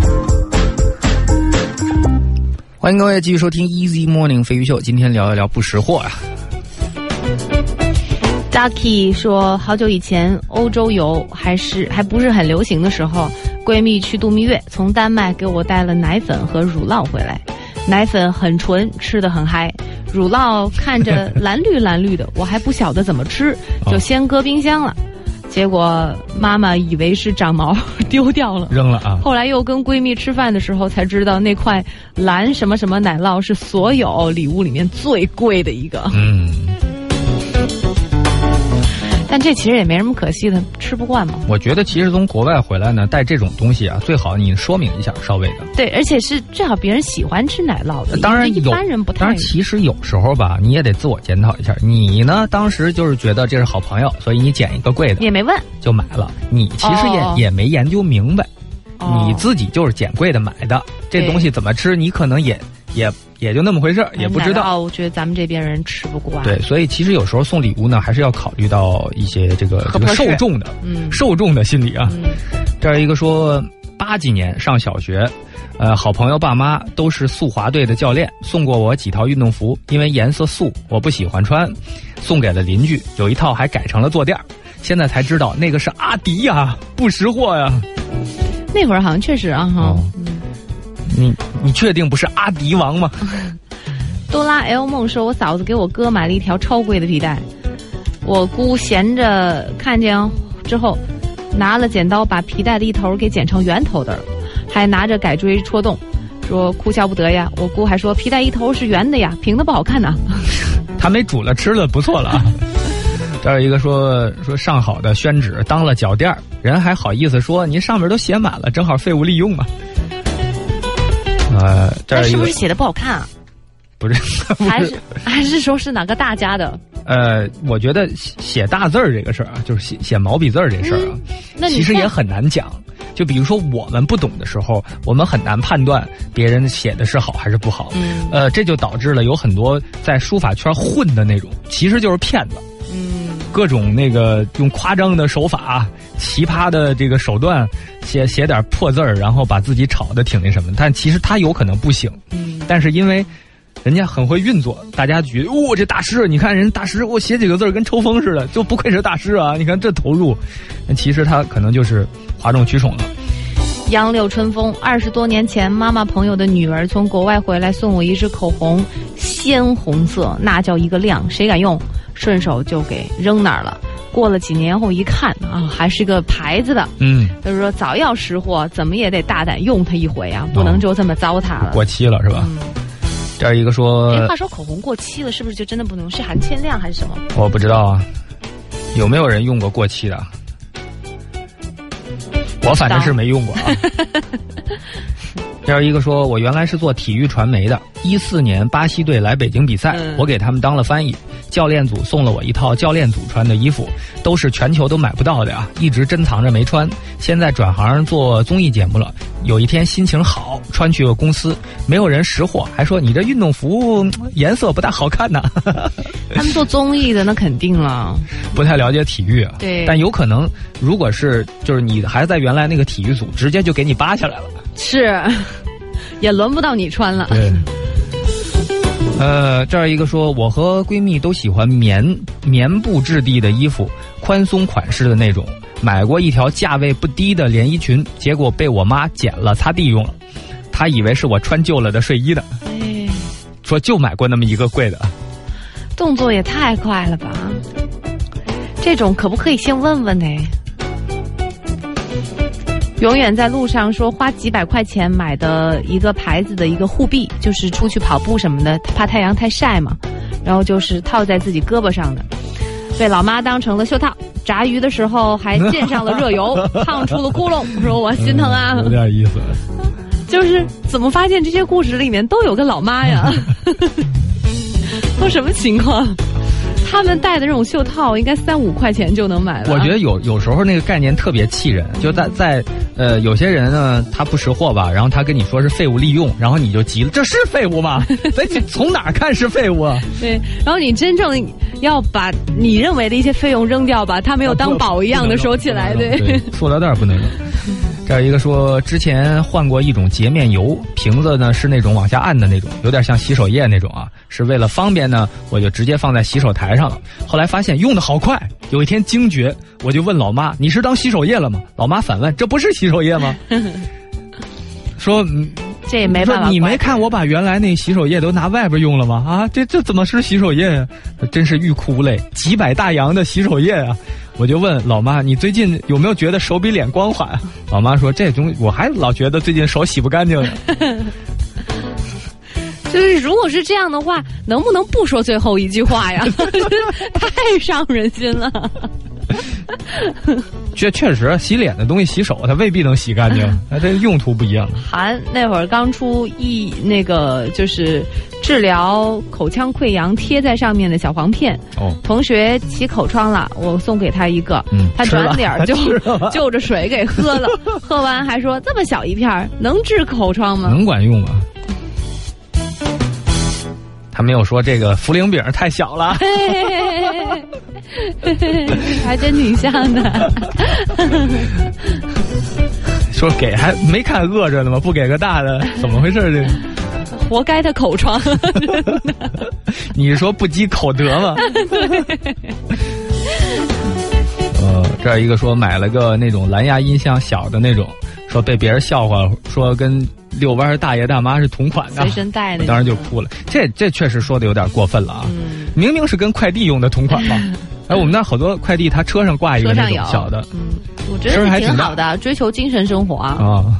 欢迎各位继续收听 Easy Morning 飞鱼秀，今天聊一聊不识货啊。 Ducky 说，好久以前欧洲游还不是很流行的时候，闺蜜去度蜜月，从丹麦给我带了奶粉和乳酪回来。奶粉很纯，吃得很嗨，乳酪看着蓝绿蓝绿的，我还不晓得怎么吃，就先搁冰箱了。结果妈妈以为是长毛丢掉了， 扔了啊。 后来又跟闺蜜吃饭的时候才知道，那块蓝什么什么奶酪是所有礼物里面最贵的一个。但这其实也没什么可惜的，吃不惯嘛。 我觉得其实从国外回来呢，带这种东西啊，最好你说明一下，稍微的。 对，而且是最好别人喜欢吃奶酪的。 当然一般人不太。 当然，其实有时候吧，你也得自我检讨一下。你呢，当时就是觉得这是好朋友，所以你捡一个贵的， 也没问就买了。你其实也没研究明白，你自己就是捡贵的买的。这东西怎么吃，你可能也就那么回事，也不知道。 我觉得咱们这边人吃不惯。 对，所以其实有时候送礼物呢，还是要考虑到一些这个受众的，受众的心理啊。这儿一个说，80几年上小学，好朋友爸妈都是速滑队的教练，送过我几套运动服，因为颜色素我不喜欢穿，送给了邻居，有一套还改成了坐垫，现在才知道那个是阿迪呀，不识货呀。 那会儿好像确实啊哈。 你确定不是阿迪王吗？ 多拉 L 梦说，我嫂子给我哥买了一条超贵的皮带，我姑闲着看见之后，拿了剪刀把皮带的一头给剪成圆头的，还拿着改锥戳洞，说哭笑不得呀。我姑还说皮带一头是圆的呀，平的不好看呐。 他没煮了吃了不错了啊。这儿一个说上好的宣纸当了脚垫，人还好意思说您上面都写满了，正好废物利用嘛。这儿一个是不是写的不好看啊？ 不是， 还是说是哪个大家的？ 我觉得写大字儿这个事儿啊，就是写毛笔字儿这事儿啊，其实也很难讲。就比如说我们不懂的时候，我们很难判断别人写的是好还是不好。这就导致了有很多在书法圈混的那种，其实就是骗子。 各种那个用夸张的手法、奇葩的这个手段写点破字儿，然后把自己炒得挺那什么。但其实他有可能不行，但是因为人家很会运作，大家觉得这大师，你看人大师写几个字跟抽风似的，就不愧是大师啊！你看这投入，其实他可能就是哗众取宠了。 杨柳春风，20多年前，妈妈朋友的女儿从国外回来送我一支口红，鲜红色，那叫一个亮，谁敢用？顺手就给扔那儿了。过了几年后一看啊，还是个牌子的，就是说早要识货，怎么也得大胆用它一回啊，不能就这么糟蹋了。 过期了是吧？这儿一个说， 话说口红过期了，是不是就真的不能用？是含铅量还是什么？ 我不知道啊，有没有人用过过期的？我反正是没用过啊。这儿一个说，我原来是做体育传媒的，14年巴西队来北京比赛，我给他们当了翻译，教练组送了我一套教练组穿的衣服，都是全球都买不到的啊，一直珍藏着没穿。现在转行做综艺节目了，有一天心情好，穿去个公司，没有人识货，还说你这运动服颜色不大好看呢。 他们做综艺的那肯定了， 不太了解体育啊。 对， 但有可能如果是就是你还在原来那个体育组，直接就给你扒下来了。 是，也轮不到你穿了。 对。这儿一个说，我和闺蜜都喜欢棉布质地的衣服，宽松款式的那种。买过一条价位不低的连衣裙，结果被我妈剪了擦地用了。她以为是我穿旧了的睡衣的，说就买过那么一个贵的。 动作也太快了吧！这种可不可以先问问呢？永远在路上说花几百块钱买的一个牌子的一个护臂，就是出去跑步什么的，怕太阳太晒嘛，然后就是套在自己胳膊上的，被老妈当成了袖套，炸鱼的时候还溅上了热油，烫出了窟窿，说我心疼啊。 有点意思。 就是怎么发现这些故事里面都有个老妈呀？都什么情况？他们戴的这种袖套应该3-5块钱就能买了。 我觉得有时候那个概念特别气人，就在有些人呢他不识货吧，然后他跟你说是废物利用，然后你就急了，这是废物吗？从哪儿看是废物啊？ 对，然后你真正要把你认为的一些费用扔掉吧，他没有当宝一样的收起来，对， 塑料袋不能扔。这儿一个说，之前换过一种洁面油，瓶子呢是那种往下按的那种，有点像洗手液那种啊，是为了方便呢，我就直接放在洗手台上了。后来发现用的好快，有一天惊觉，我就问老妈：“你是当洗手液了吗？”老妈反问：“这不是洗手液吗？”说这也没办法， 你没看我把原来那洗手液都拿外边用了吗？啊，这怎么是洗手液呀？真是欲哭无泪，几百大洋的洗手液啊！我就问老妈，你最近有没有觉得手比脸光滑？老妈说，这东西我还老觉得最近手洗不干净了。 就是如果是这样的话，能不能不说最后一句话呀？太伤人心了。 确实，洗脸的东西洗手，它未必能洗干净，它这用途不一样。 韩那会儿刚出那个就是治疗口腔溃疡贴在上面的小黄片，同学起口疮了，我送给他一个，他转脸就就着水给喝了，喝完还说这么小一片能治口疮吗？ 能管用吗？他没有说这个茯苓饼太小了， 还真挺像的。 说给还没看饿着呢吗？不给个大的，怎么回事？这活该他口疮。 你说不积口德吗？这儿一个说买了个那种蓝牙音箱小的那种，说被别人笑话，说跟遛弯大爷大妈是同款的， 随身带的， 当时就哭了。这确实说的有点过分了啊！明明是跟快递用的同款嘛。哎，我们那好多快递，他车上挂一个那种小的， 我觉得挺好的，追求精神生活啊。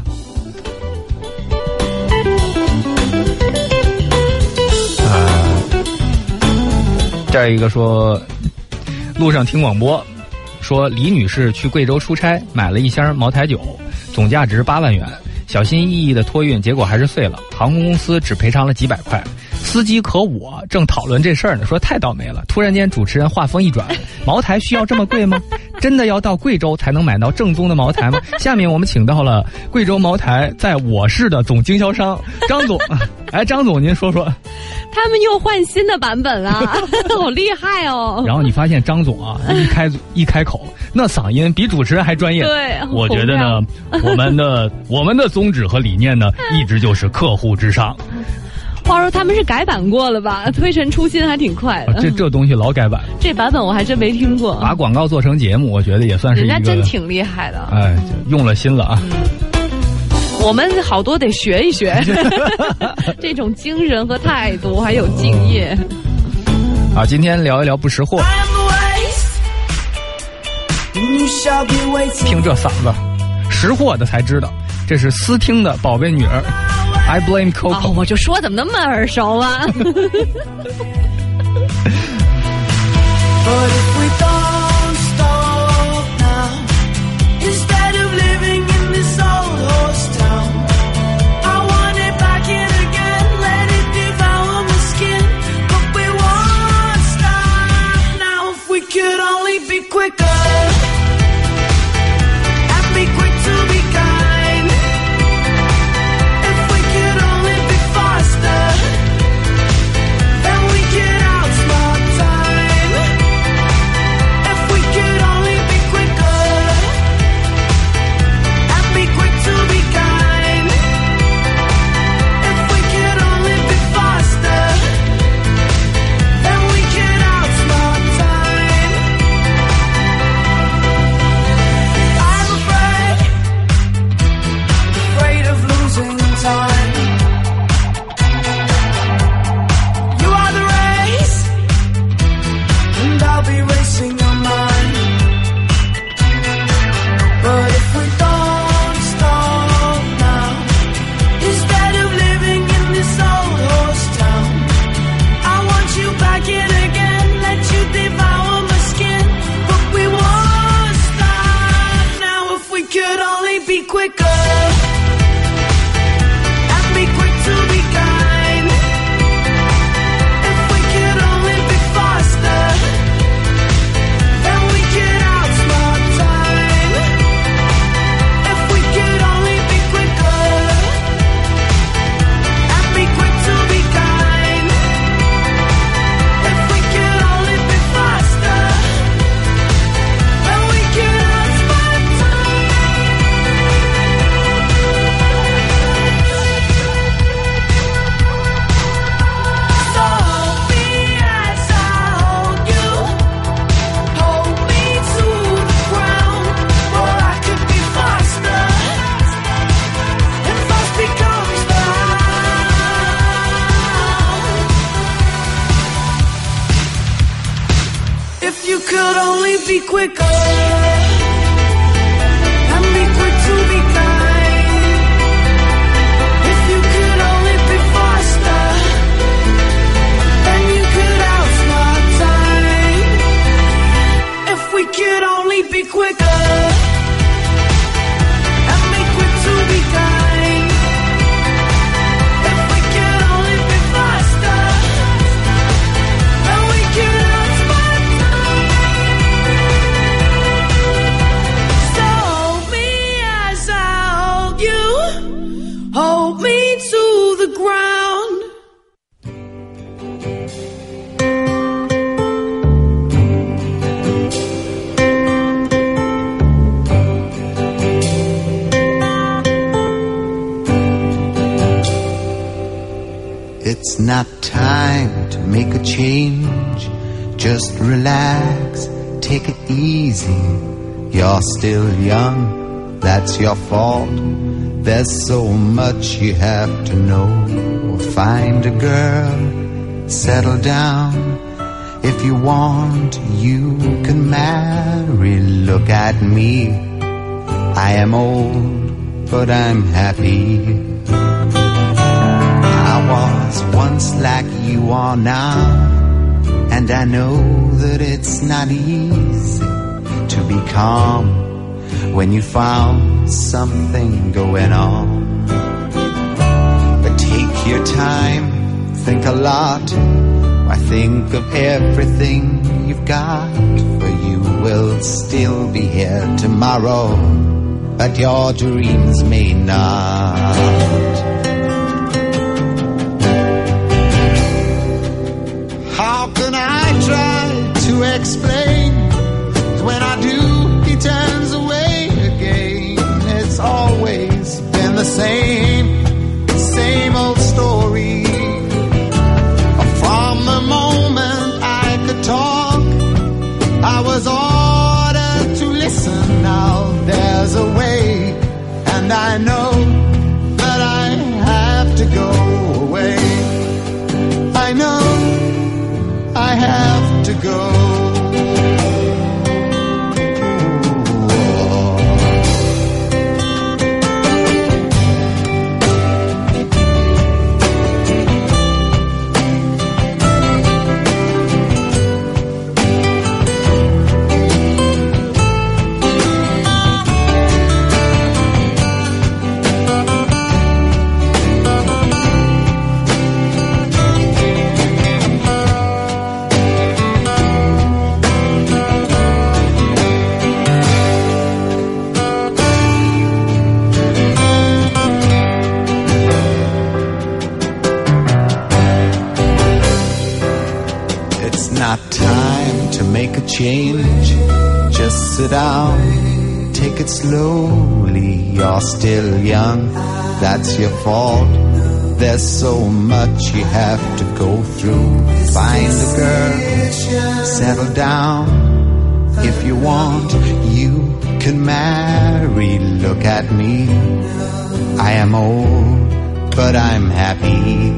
这儿一个说，路上听广播，说李女士去贵州出差，买了一箱茅台酒，总价值8万元，小心翼翼的托运，结果还是碎了，航空公司只赔偿了几百块。司机和我正讨论这事儿呢，说太倒霉了。突然间主持人话锋一转，茅台需要这么贵吗？ 真的要到贵州才能买到正宗的茅台吗？下面我们请到了贵州茅台在我市的总经销商张总。哎，张总，您说说。 他们又换新的版本了，好厉害哦！ 然后你发现张总啊，一开口，那嗓音比主持人还专业。 对， 我觉得呢，我们的宗旨和理念呢，一直就是客户至上。 话说他们是改版过了吧？推陈出新还挺快的。 这东西老改版， 这版本我还真没听过。 把广告做成节目，我觉得也算是一个。 人家真挺厉害的。 哎，用了心了啊。 我们好多得学一学这种精神和态度，还有敬业。 好，今天聊一聊不识货。听这嗓子，识货的才知道，这是思听的宝贝女儿。I blame Coco。 我就说怎么那么耳熟啊 It's not time to make a change. Just relax, take it easy. You're still young, that's your fault. There's so much you have to know. Find a girl, settle down. If you want, you can marry. Look at me, I am old, but I'm happy. I was once like you are now, and I know that it's not easy to be calm when you found something going on. But take your time, think a lot. Why, think of everything you've got for you will still be here tomorrow, but your dreams may not. How can I try to explain? When I do, he turns away again. It's always been the same old story. From the moment I could talk, I was ordered to listen. Now there's a way, and I know that I have to go away. I know I have to go. Change, just sit down, take it slowly. You're still young, that's your fault. There's so much you have to go through. Find a girl, settle down. If you want, you can marry. Look at me, I am old, but I'm happy.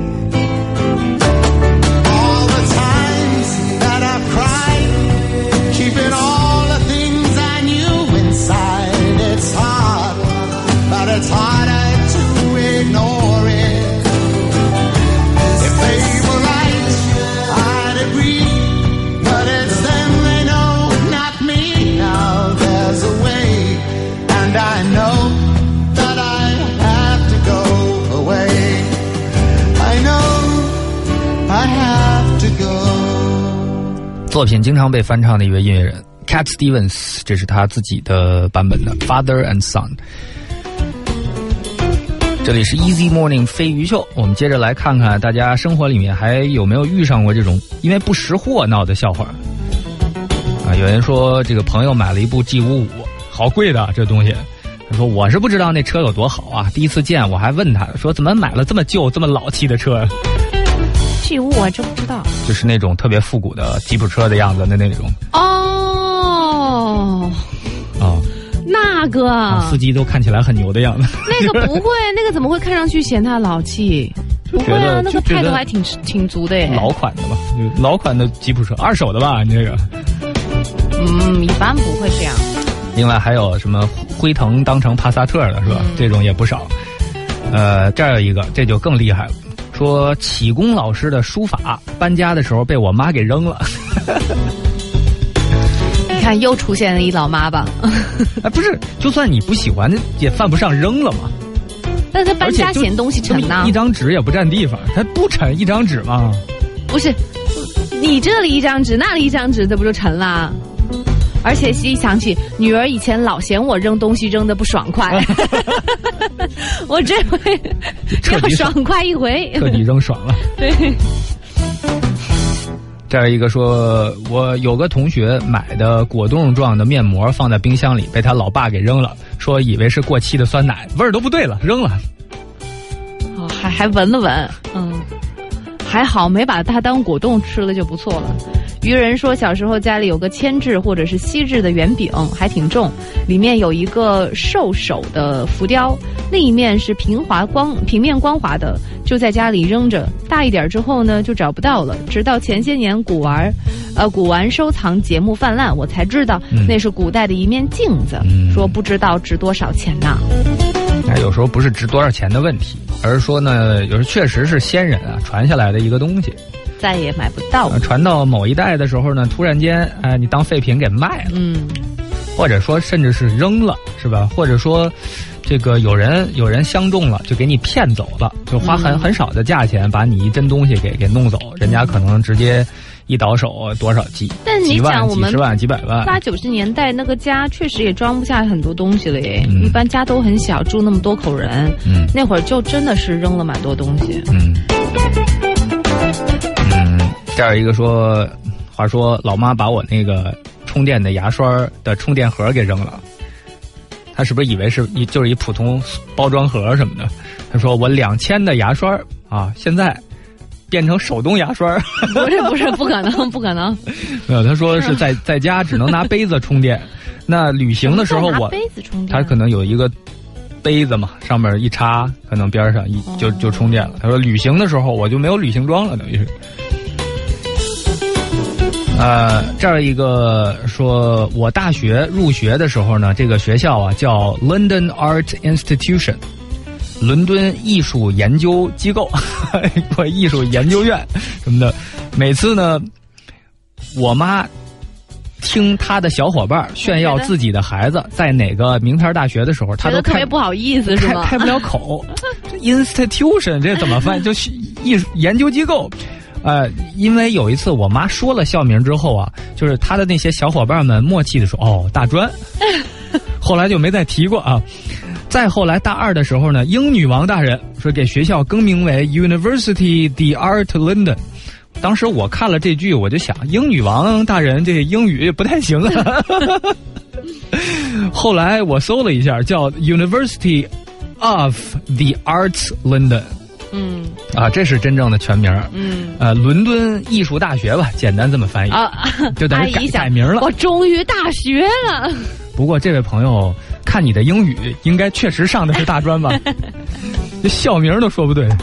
All the times that I've cried, keeping all the things I knew inside. It's hard, but it's harder to ignore it. If they were right, I'd agree, but it's them they know, not me. Now there's a way, and I know that I have to go away. I know I have to go. 作品经常被翻唱的一位音乐人 Cat Stevens， 这是他自己的版本的 Father and Son。 这里是 Easy Morning 飞鱼秀，我们接着来看看大家生活里面还有没有遇上过这种因为不识货闹的笑话啊。有人说这个朋友买了一部 G55， 好贵的这东西，他说我是不知道那车有多好啊，第一次见我还问他说怎么买了这么旧这么老气的车。 G55我还真不知道， 就是那种特别复古的吉普车的样子的那种。 哦，那个、 司机都看起来很牛的样子。 那个不会，那个怎么会看上去嫌他老气？不会啊，那个态度还挺足的耶。 老款的吧，老款的吉普车，二手的吧？你这个？ 一般不会这样。 另外还有什么辉腾当成帕萨特的是吧？这种也不少。这儿有一个，这就更厉害了。说启功老师的书法搬家的时候被我妈给扔了。 你看又出现了一老妈吧。 不是，就算你不喜欢也犯不上扔了嘛。 但是搬家嫌东西沉呐， 一张纸也不占地方，它不沉一张纸吗？ 不是，你这里一张纸那里一张纸，这不就沉啦？而且一想起女儿以前老嫌我扔东西扔得不爽快，我这回要爽快一回， 彻底扔爽了。 对。 这儿一个说，我有个同学买的果冻状的面膜放在冰箱里，被他老爸给扔了，说以为是过期的酸奶，味儿都不对了，扔了。 哦，还闻了闻，还好没把它当果冻吃了就不错了。渔人说，小时候家里有个铅制或者是锡制的圆饼，还挺重，里面有一个兽首的浮雕，另一面是平面光滑的，就在家里扔着。大一点之后呢，就找不到了。直到前些年古玩收藏节目泛滥，我才知道那是古代的一面镜子，说不知道值多少钱呢。 有时候不是值多少钱的问题，而是说呢，有时候确实是先人传下来的一个东西。 再也买不到传到某一代的时候呢，突然间你当废品给卖了，或者说甚至是扔了，是吧？或者说这个有人相中了，就给你骗走了，就花很少的价钱把你一真东西给弄走，人家可能直接一倒手多少几但你几万、 讲我们几十万、几百万。 80、90年代那个家确实也装不下很多东西了耶，一般家都很小，住那么多口人，那会儿就真的是扔了蛮多东西。 这儿一个说，话说老妈把我那个充电的牙刷的充电盒给扔了，他是不是以为就是一普通包装盒什么的？他说我2000的牙刷啊，现在变成手动牙刷。 不是，不可能，不可能。 没有，他说是在家只能拿杯子充电。那旅行的时候拿杯子充电， 他可能有一个杯子嘛，上面一插，可能边上就充电了。他说旅行的时候我就没有旅行装了，等于是。这儿一个说，我大学入学的时候呢，这个学校啊叫 London Art Institution， 伦敦艺术研究机构或艺术研究院什么的。每次呢，我妈听她的小伙伴炫耀自己的孩子在哪个名牌大学的时候，她都特别不好意思，是吗？ 开不了口。Institution 这怎么翻？就是艺术研究机构。因为有一次我妈说了校名之后啊，就是她的那些小伙伴们默契的说，哦，大专。后来就没再提过啊。再后来大2的时候呢，英女王大人说给学校更名为 University the Art London。当时我看了这句，我就想，英女王大人这英语不太行啊。后来我搜了一下，叫 University of the Arts London。这是真正的全名。伦敦艺术大学吧，简单这么翻译就等于改名了。 我终于大学了。 不过这位朋友，看你的英语，应该确实上的是大专吧？这校名都说不对。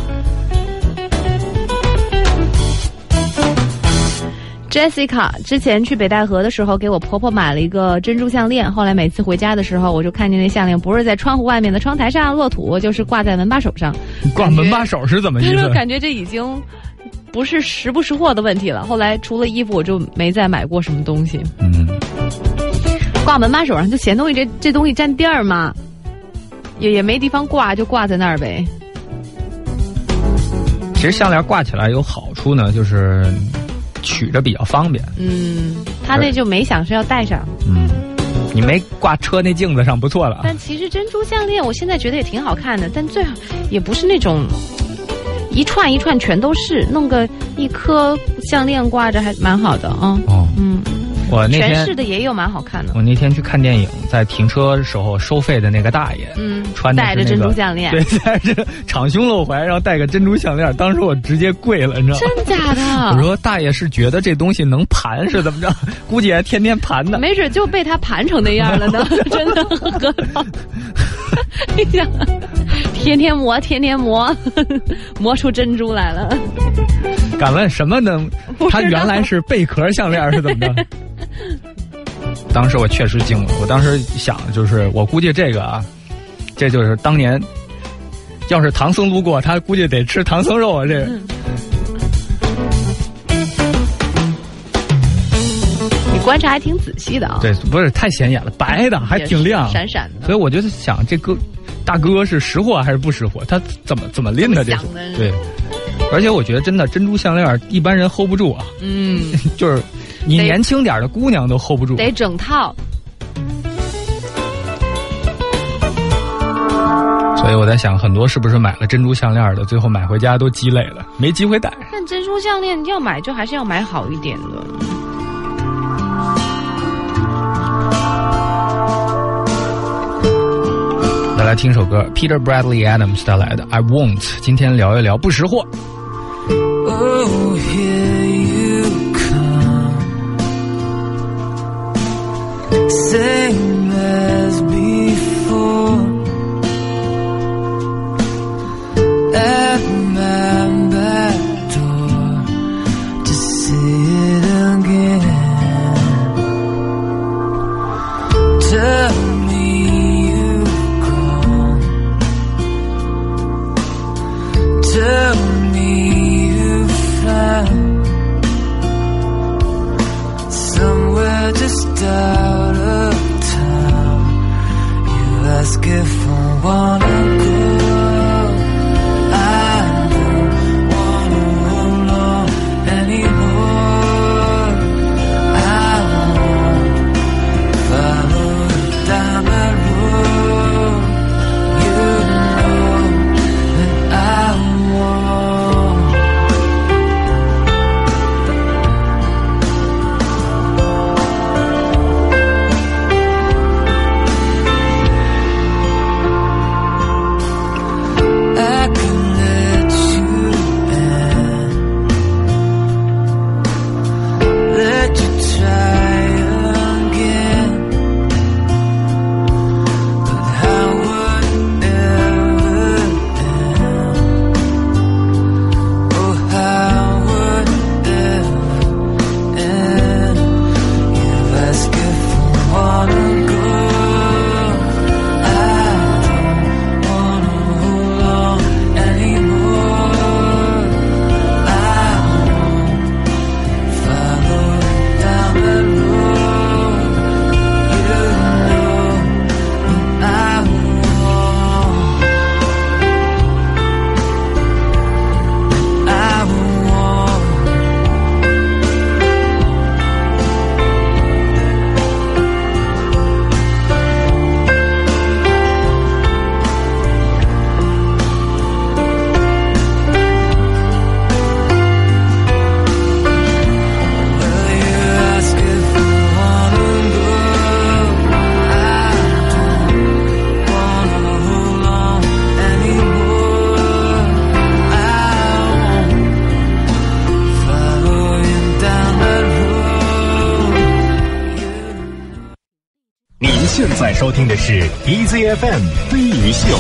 Jessica 之前去北戴河的时候，给我婆婆买了一个珍珠项链，后来每次回家的时候，我就看见那项链不是在窗户外面的窗台上落土，就是挂在门把手上。 挂门把手是怎么意思？ 感觉这已经不是识不识货的问题了。后来除了衣服，我就没再买过什么东西。挂门把手上就嫌东西这东西占地儿嘛，也没地方挂，就挂在那儿呗。 其实项链挂起来有好处呢，就是取着比较方便。 他那就没想是要戴上。 你没挂车那镜子上不错了。 但其实珍珠项链我现在觉得也挺好看的，但最好也不是那种一串一串全都是，弄个一颗项链挂着还蛮好的啊。我那天全是的也有蛮好看的。 我那天去看电影，在停车时候收费的那个大爷，穿的是戴着珍珠项链， 对，戴着敞胸露怀，然后戴个珍珠项链，当时我直接跪了，你知道吗？ 真假的？ 我说大爷是觉得这东西能盘是怎么着？估计还天天盘呢。 没准就被他盘成那样了呢，真的很好。你想，天天磨，天天磨，磨出珍珠来了。 敢问什么能？它原来是贝壳项链是怎么着？当时我确实惊了，我当时想，就是我估计这个啊，这就是当年要是唐僧路过，他估计得吃唐僧肉啊，这个。 你观察还挺仔细的啊。 对，不是太显眼了，白的还挺亮， 闪闪的。 所以我就想，这个大哥是识货还是不识货？他怎么拎的这是？对。而且我觉得真的珍珠项链一般人 hold 不住啊。就是你年轻点的姑娘都 hold 不住， 得整套。 所以我在想，很多是不是买了珍珠项链的，最后买回家都鸡肋了，没机会戴。 但珍珠项链要买就还是要买好一点的。 再来听首歌 ，Peter Bradley Adams 带来的《I Won't》。今天聊一聊不识货。 Oh, here you come, same as before, at my back door to see it again. Tell me you've gone, tell me somewhere just out of town. You ask if I wanna go. I don't wanna hold on anymore. 现在收听的是 EZFM 飞鱼秀。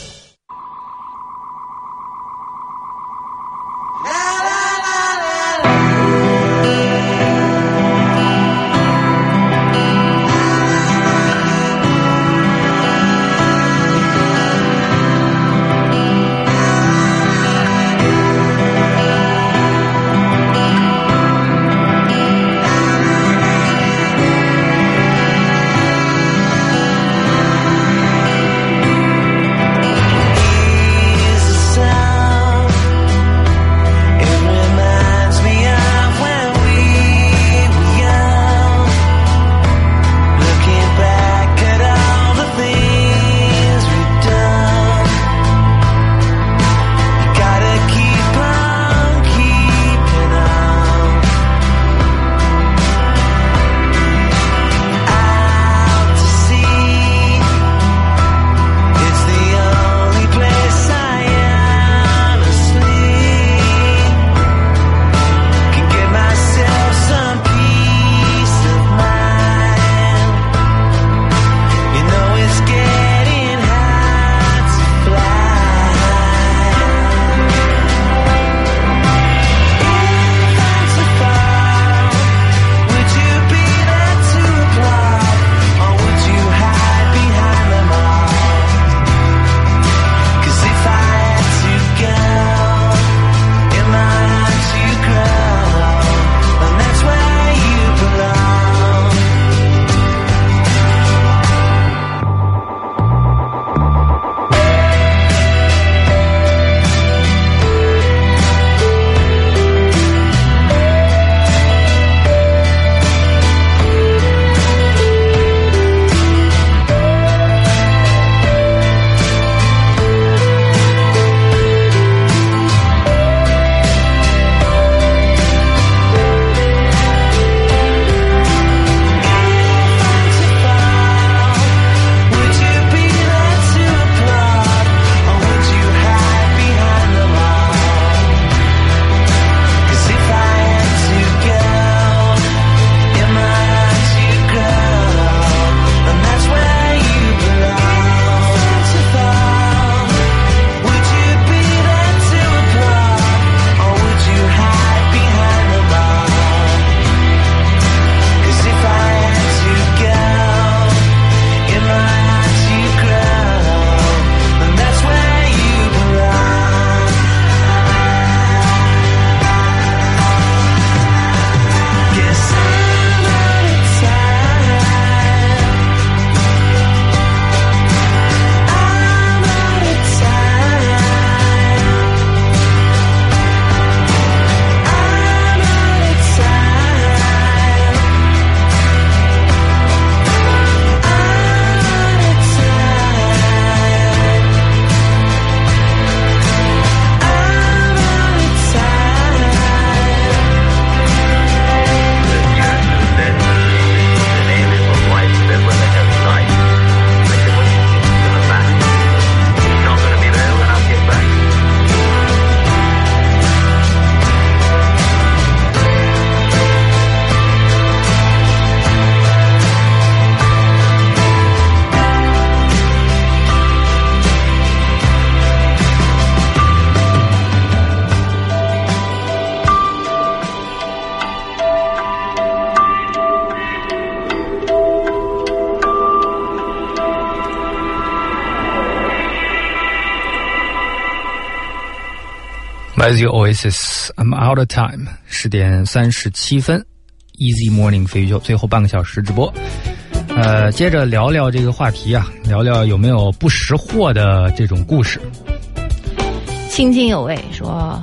来自于 Oasis I'm Out of Time 10点37分 Easy Morning 飞鱼秀最后半个小时直播。接着聊聊这个话题啊，聊聊有没有不识货的这种故事。 津津有味说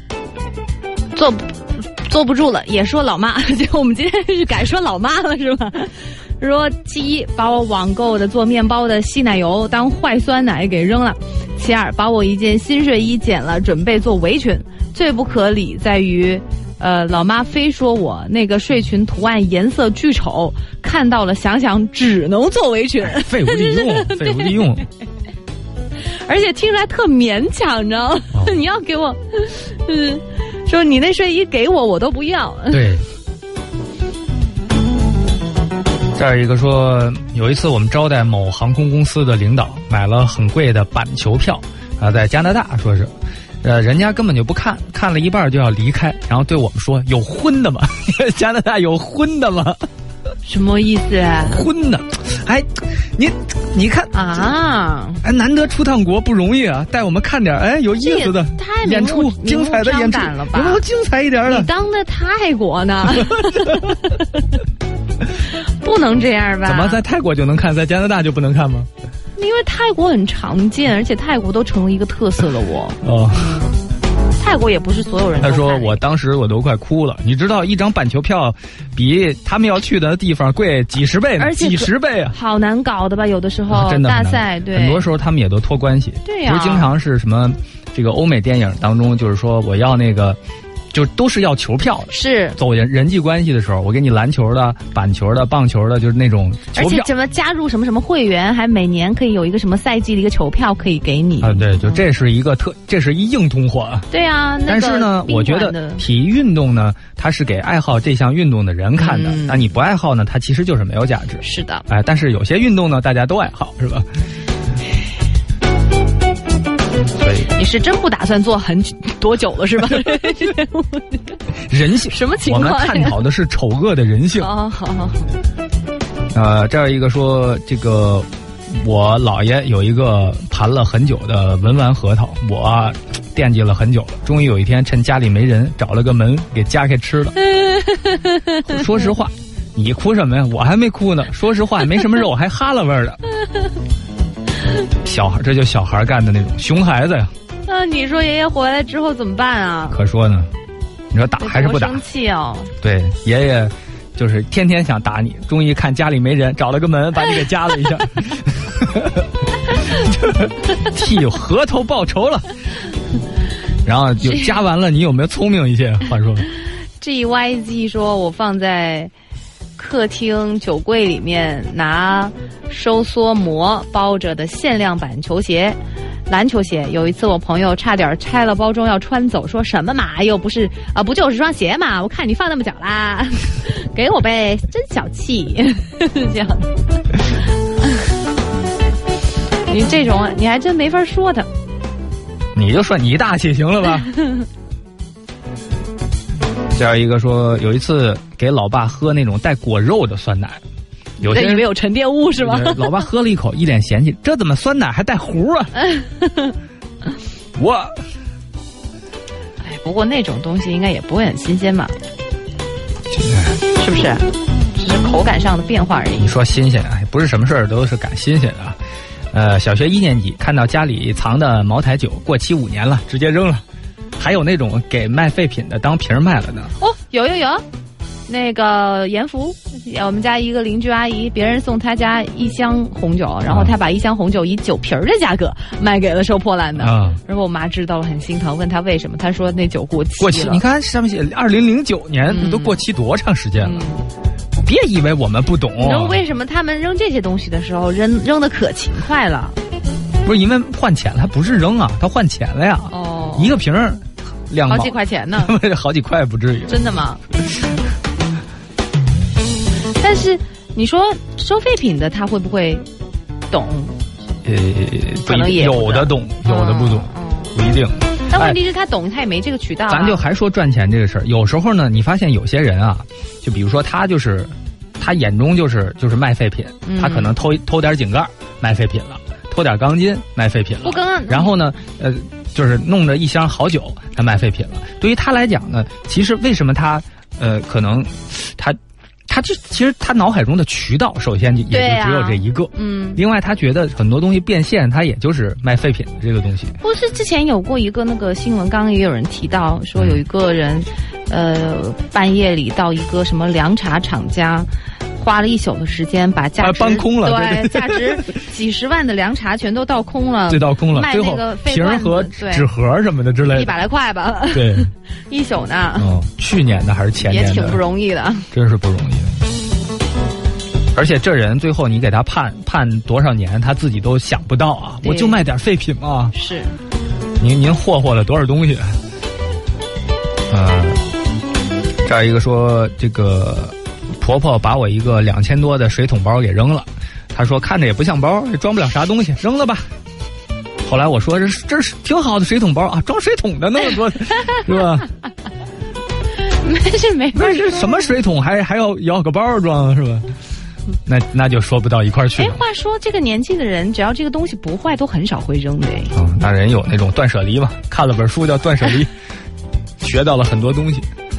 坐不住了，也说老妈，就我们今天是改说老妈了是吧？说其一，把我网购的做面包的稀奶油当坏酸奶给扔了；其二，把我一件新睡衣剪了，准备做围裙。最不可理在于，老妈非说我那个睡裙图案颜色巨丑，看到了想想只能做围裙， 废物利用，废物利用。 而且听出来特勉强，你知道吗？你要给我，说你那睡衣给我，我都不要。 对。 这儿一个说，有一次我们招待某航空公司的领导，买了很贵的板球票啊，在加拿大说是，人家根本就不看，看了一半就要离开，然后对我们说：“有荤的吗？加拿大有荤的吗？” 什么意思啊？ 荤的，哎，你看啊， 哎，难得出趟国不容易啊，带我们看点哎有意思的演出，精彩的演出了吧？ 有没有精彩一点的？ 你当的泰国呢？不能这样吧？ 怎么在泰国就能看，在加拿大就不能看吗？ 因为泰国很常见，而且泰国都成为一个特色了。 哦， 泰国也不是所有人都看。 他说我当时我都快哭了，你知道一张板球票比他们要去的地方贵几十倍呢， 而且几十倍啊， 好难搞的吧？有的时候真的大赛对， 很多时候他们也都托关系。 对呀， 不是经常是什么这个欧美电影当中，就是说我要那个。就都是要球票的， 是走人际关系的时候，我给你篮球的、板球的、棒球的，就是那种球票。 而且怎么加入什么什么会员，还每年可以有一个什么赛季的一个球票可以给你啊？对，就这是一个这是一硬通货。 对啊， 但是呢，我觉得体育运动呢，它是给爱好这项运动的人看的。那你不爱好呢，它其实就是没有价值。 是的， 哎，但是有些运动呢，大家都爱好，是吧？所以你是真不打算做多久了是吧？ 人性什么情况？ 我们探讨的是丑恶的人性。 哦，好。 这儿一个说，这个我姥爷有一个盘了很久的文玩核桃，我惦记了很久了，终于有一天趁家里没人，找了个门给夹开吃了。说实话，你哭什么呀？我还没哭呢。说实话，没什么肉，还哈喇味儿的。小孩，这就小孩干的那种熊孩子呀。 那你说爷爷回来之后怎么办啊？ 可说呢，你说打还是不打？ 生气哦。 对，爷爷就是天天想打你，终于看家里没人，找了个门把你给夹了一下，替核桃报仇了。然后就夹完了，你有没有聪明一些？话说 ，GYZ 说我放在客厅酒柜里面拿收缩膜包着的限量版球鞋，篮球鞋。有一次我朋友差点拆了包装要穿走，说什么嘛，又不是啊，不就是双鞋嘛，我看你放那么久啦，给我呗，真小气。这样的你这种你还真没法说他， 你就说你大气行了吧。这样一个说，有一次给老爸喝那种带果肉的酸奶，有些人以为有沉淀物是吗？ 老爸喝了一口，一脸嫌弃，这怎么酸奶还带糊啊？我， 哎，不过那种东西应该也不会很新鲜嘛，是不是？只是口感上的变化而已。 你说新鲜，哎，不是什么事儿都是赶新鲜的。小学1年级看到家里藏的茅台酒过期5年了，直接扔了。还有那种给卖废品的当瓶卖了的。 哦，有，那个盐福，我们家一个邻居阿姨，别人送她家1箱红酒，然后她把1箱红酒以酒瓶的价格卖给了收破烂的。然后我妈知道了很心疼，问她为什么，她说那酒过期了。 过期，你看上面写2009年，都过期多长时间了？别以为我们不懂。 你知道为什么他们扔这些东西的时候扔的可勤快了？ 不是因为换钱了，他不是扔啊，他换钱了呀。 哦， 一个瓶2毛， 好几块钱呢。 好几块不至于。 真的吗？但是你说收废品的他会不会懂？可能也有的懂，有的不懂，不一定。 但问题是他懂，他也没这个渠道。 咱就还说赚钱这个事儿，有时候呢，你发现有些人啊，就比如说他眼中就是卖废品，他可能偷点井盖卖废品了，偷点钢筋卖废品了，然后呢，就是弄着1箱好酒，他卖废品了。对于他来讲呢，其实为什么他可能其实他脑海中的渠道，首先也就只有这一个。另外他觉得很多东西变现，他也就是卖废品的这个东西。 不是之前有过一个那个新闻，刚刚也有人提到说有一个人，半夜里到一个什么凉茶厂家。花了1宿的时间把价值搬空了， 对，价值几10万的凉茶全都倒空了， 最倒空了， 卖那个瓶和纸盒什么的之类的 ，100来块吧。 对 ，1宿呢。 去年的还是前年的， 也挺不容易的， 真是不容易的。而且这人最后你给他判多少年，他自己都想不到啊！我就卖点废品嘛。 是。 您霍霍了多少东西？这儿一个说这个。 婆婆把我一个2000多的水桶包给扔了，她说看着也不像包，也装不了啥东西，扔了吧。后来我说这是挺好的水桶包啊，装水桶的那么多，是吧？ 没法说。 这什么水桶还要个包装是吧？那就说不到一块儿去了。 话说这个年纪的人，只要这个东西不坏，都很少会扔的。 那人有那种断舍离嘛，看了本书叫《断舍离》，学到了很多东西。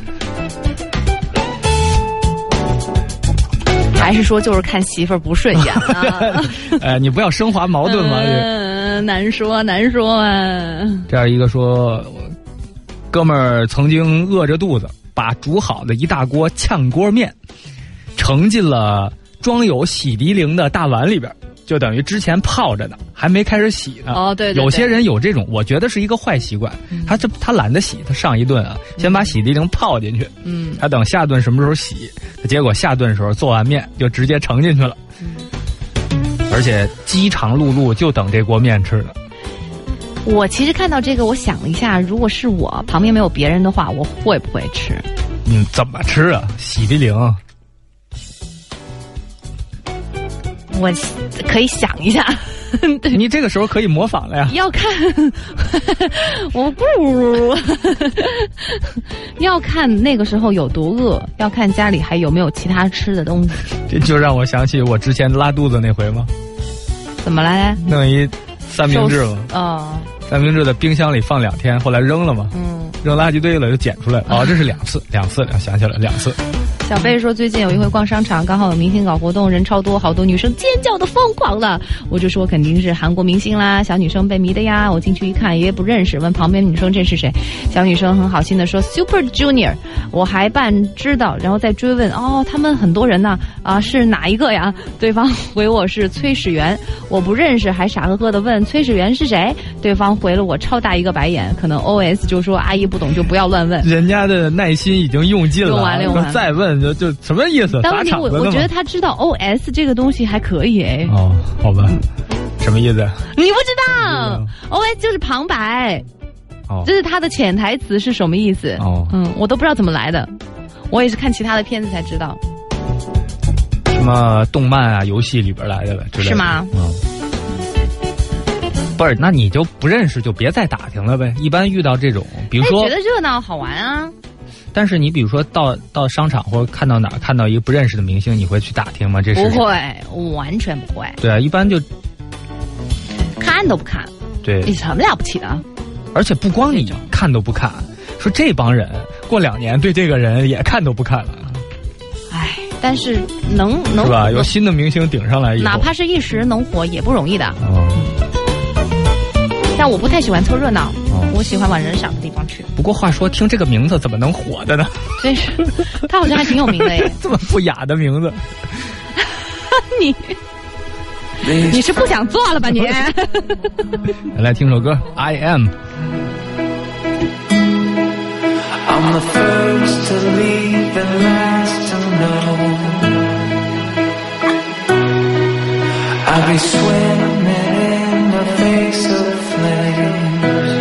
还是说就是看媳妇儿不顺眼啊？ 你不要升华矛盾嘛。 难说啊。 这样一个说，哥们儿曾经饿着肚子，把煮好的一大锅炝锅面盛进了装有洗涤灵的大碗里边，就等于之前泡着呢，还没开始洗呢。 对。 有些人有这种，我觉得是一个坏习惯。他懒得洗，他上一顿啊，先把洗涤灵泡进去。他等下顿什么时候洗，结果下顿的时候做完面就直接盛进去了。而且饥肠辘辘就等这锅面吃了。 我其实看到这个，我想了一下，如果是我旁边没有别人的话，我会不会吃？ 怎么吃啊？洗涤灵。 我可以想一下。 你这个时候可以模仿了呀。 要看我不要看那个时候有多饿，要看家里还有没有其他吃的东西。 这就让我想起我之前拉肚子那回吗？ 怎么了？ 弄一三明治嘛。三明治的冰箱里放2天，后来扔了嘛。扔垃圾堆了，就捡出来。这是2次，想起来2次。 小贝说，最近有一回逛商场，刚好有明星搞活动，人超多，好多女生尖叫的疯狂了。我就说肯定是韩国明星啦，小女生被迷的呀。我进去一看，也不认识，问旁边女生这是谁？小女生很好心的说 Super Junior， 我还半知道，然后再追问，他们很多人呢，是哪一个呀？对方回我是崔始源，我不认识，还傻呵呵的问崔始源是谁？对方回了我超大一个白眼，可能 OS 就说阿姨不懂就不要乱问。 人家的耐心已经用尽了， 用完再问就什么意思？ 当时我觉得他知道 OS 这个东西还可以哎。 好吧，什么意思？ 你不知道 OS 就是旁白。这是他的潜台词是什么意思？我都不知道怎么来的，我也是看其他的片子才知道。 什么动漫啊、游戏里边来的了之类的。 是吗？ 不是，那你就不认识就别再打听了呗。一般遇到这种，比如说觉得热闹好玩啊。 但是你比如说到商场或者看到哪儿看到一个不认识的明星，你会去打听吗？这是不会，完全不会。 对啊，一般就看都不看。 对， 有什么了不起的？ 而且不光你看都不看，说这帮人过2年对这个人也看都不看了。 但是能是吧？有新的明星顶上来以后， 哪怕是一时能火也不容易的。但我不太喜欢凑热闹，我喜欢往人少的地方去。 不过话说，听这个名字怎么能火的呢？ 真是，他好像还挺有名的耶。 这么不雅的名字， 你是不想做了吧你？ 来听首歌 I Am。 I'm the first to leave and last to know. I'll be swimming in the face of flames.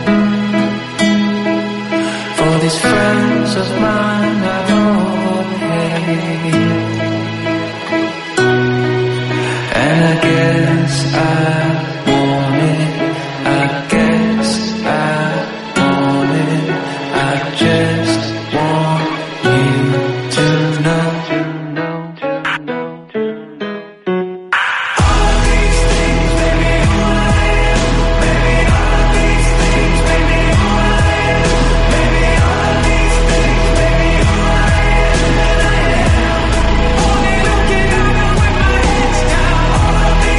For these friends of mine I've overpaid. And I guess I want it, I guess I want it, I just want you to know. All these things make me who I am. Maybe all these things make me who I am. Maybe all these things make me who I am. And I am only looking up with my head down. All of these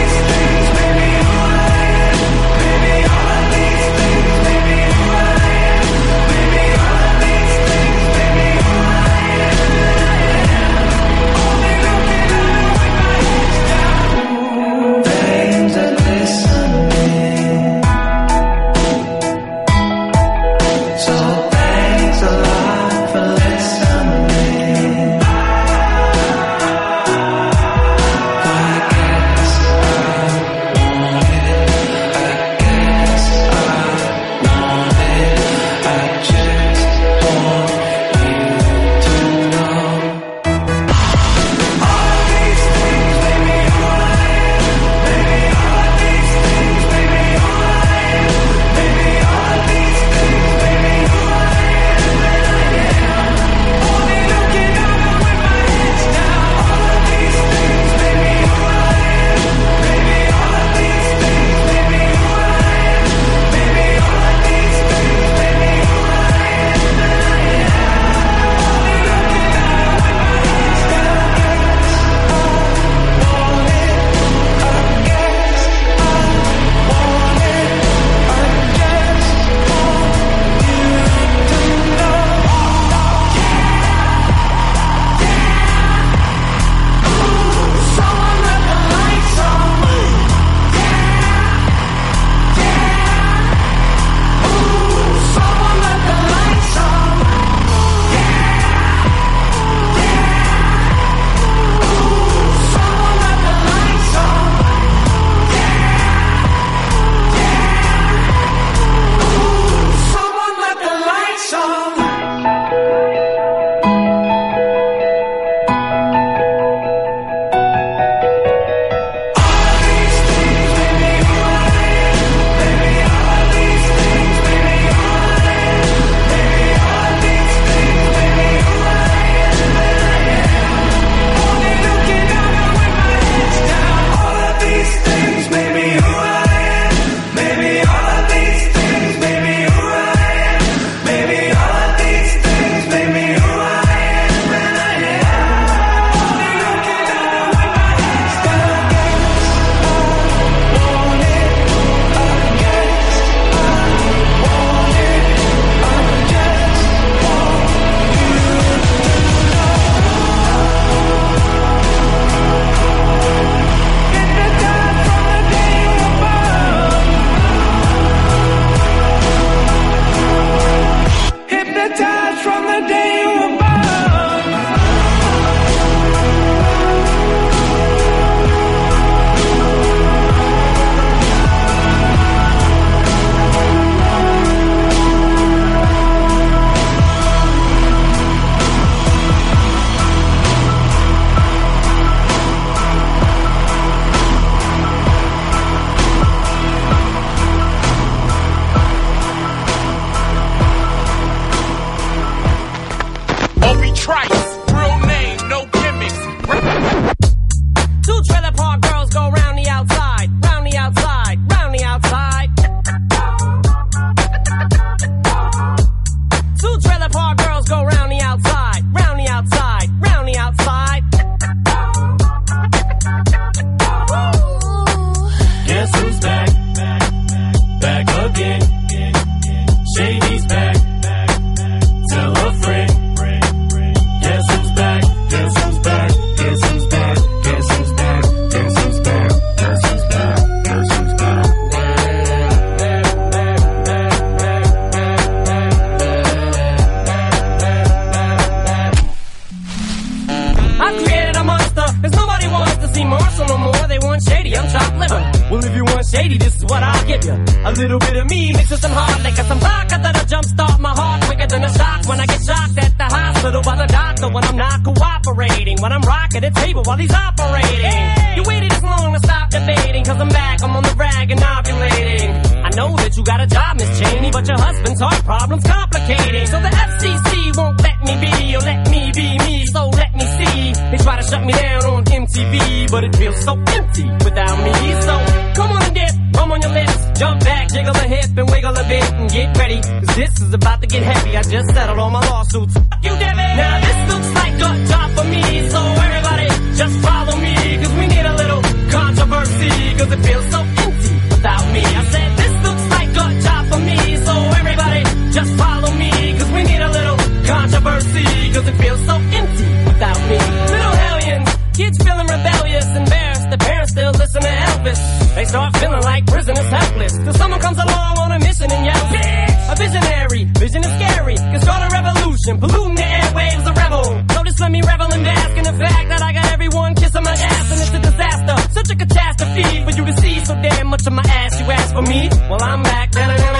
shady, this is what I'll give you. A little bit of me mixed with some hard liquor, some vodka that'll jumpstart my heart quicker than a shock when I get shocked at the hospital by the doctor when I'm not cooperating. When I'm rocking the table while he's operating. You waited this long to stop debating, cause I'm back, I'm on the rag and ovulating. I know that you got a job, Miss Cheney, but your husband's heart problem's complicating. So the FCC won't let me be, or let me be me, so let me see. They try to shut me down on MTV, but it feels so empty without me. So come on and dip, bum on your lips, jump back, jiggle a hip and wiggle a bit and get ready, cause this is about to get heavy. I just settled all my lawsuits. You did it. Now this looks like a job for me, so everybody just follow me, cause we need a little controversy, cause it feels so empty without me. I said this looks like a job for me, so everybody just follow me, cause we need a little controversy, cause it feels so empty without me. Little hellions, kids feeling rebellious, embarrassed, the parents still listen to Elvis. They start feeling like prisoners helpless, till someone comes along on a mission and yells, bitch! A visionary, vision is scary, can start a revolution, polluting the airwaves, a rebel. So just let me revel and bask in the fact that I got everyone kissing my ass, and it's a disaster, such a catastrophe for you to see so damn much of my ass. You ask for me, well I'm back.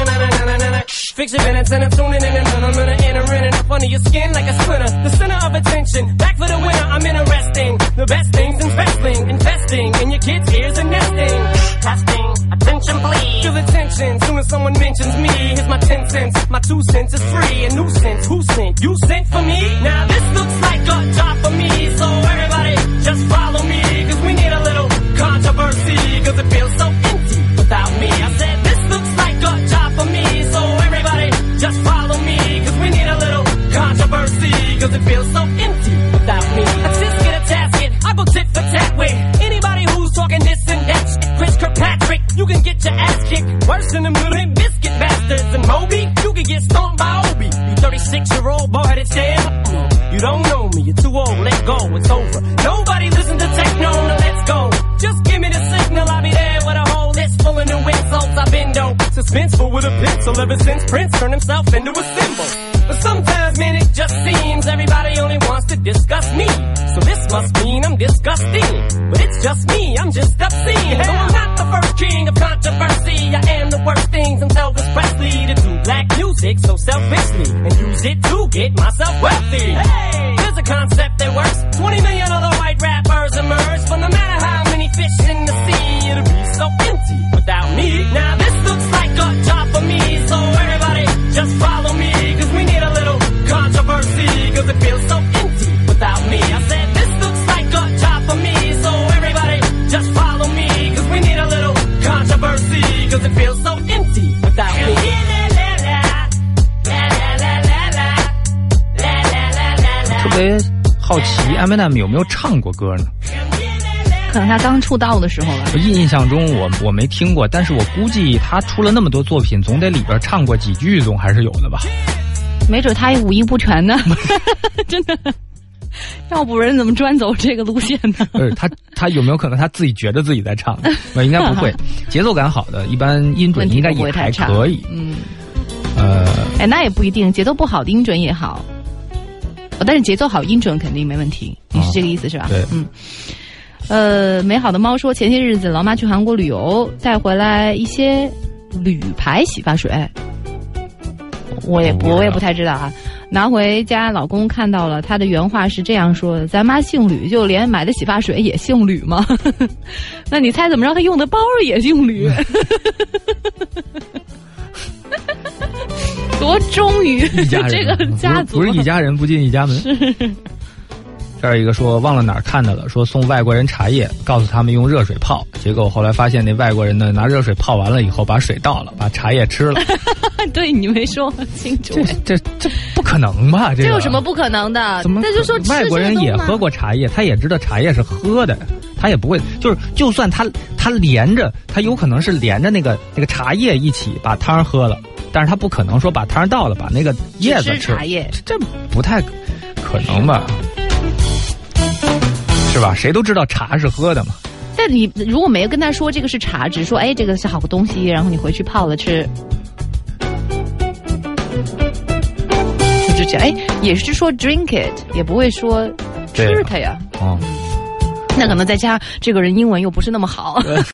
Fix your minutes and I'm tuning in and I'm gonna enter in and up under your skin like a splinter. The center of attention, back for the winner, I'm interesting. The best things in wrestling, investing in your kids' ears and nesting. Testing, attention please. Feel the tension, soon as someone mentions me. Here's my 10 cents, my 2 cents is free. A nuisance, who sent? You sent for me? Now this looks like a job for me, so everybody just follow me, cause we need a little controversy, cause it feels so empty without me. I said this looks like a job for me, so everybody just follow me, cause we need a little controversy, cause it feels so empty without me. A tisket, a tasket, I go tit for tat with anybody who's talking this and that shit. Chris Kirkpatrick, you can get your ass kicked worse than them little biscuit bastards. And Moby, you can get stomped by Obi. You 36-year-old boy that's damn. You don't know me, you're too old, let go, it's over. Nobody listen to techno, now let's go. Just give me the signal, I'll be there with a whole list full of new insults. I've been dope, suspenseful with a pencil ever since Prince turned himself into a symbol. But sometimes, man, it just seems everybody only wants to discuss me. So this must mean I'm disgusting. But it's just me, I'm just obscene. Though I'm not the first king of controversy, I am the worst things in Elvis Presley to do black music so selfishly and use it to get myself wealthy. Hey, there's a concept that works. 20 million other white rappers emerge, but no matter how many fish in the sea, it'll be so empty without me. Now this looks like a job for me, so everybody just follow me, cause we need a little controversy, cause it feels so empty without me. I said this looks like a job for me, so everybody just follow me, cause we need a little controversy, cause it feels so empty without me. 特别好奇 Eminem 有没有唱过歌呢？ 可能他刚出道的时候吧。 印象中我没听过，但是我估计他出了那么多作品，总得里边唱过几句，总还是有的吧。 没准他也五音不全呢，真的。要不然怎么专走这个路线呢？ 他有没有可能他自己觉得自己在唱？应该不会。节奏感好的，一般音准应该也还可以。 那也不一定，节奏不好的音准也好。但是节奏好，音准肯定没问题。你是这个意思是吧？ 对。 美好的猫说，前些日子老妈去韩国旅游，带回来一些铝牌洗发水。我也不太知道啊。拿回家，老公看到了，他的原话是这样说的：“咱妈姓吕，就连买的洗发水也姓吕吗？”那你猜怎么着？他用的包也姓吕，多忠于这个家族， 不是一家人不进一家门。这儿一个说忘了哪儿看到了，说送外国人茶叶，告诉他们用热水泡，结果后来发现那外国人呢拿热水泡完了以后把水倒了，把茶叶吃了。 对，你没说清楚。 这不可能吧？这有什么不可能的？ 怎么？ 那就说外国人也喝过茶叶，他也知道茶叶是喝的，他也不会就算他连着，他有可能是连着那个茶叶一起把汤喝了，但是他不可能说把汤倒了把那个叶子吃。 茶叶这不太可能吧？是吧？谁都知道茶是喝的嘛。 但你如果没有跟他说这个是茶，只是说这个是好个东西，然后你回去泡了吃，就这样。也是说 drink it， 也不会说吃它呀。 哦， 那可能在家这个人英文又不是那么好。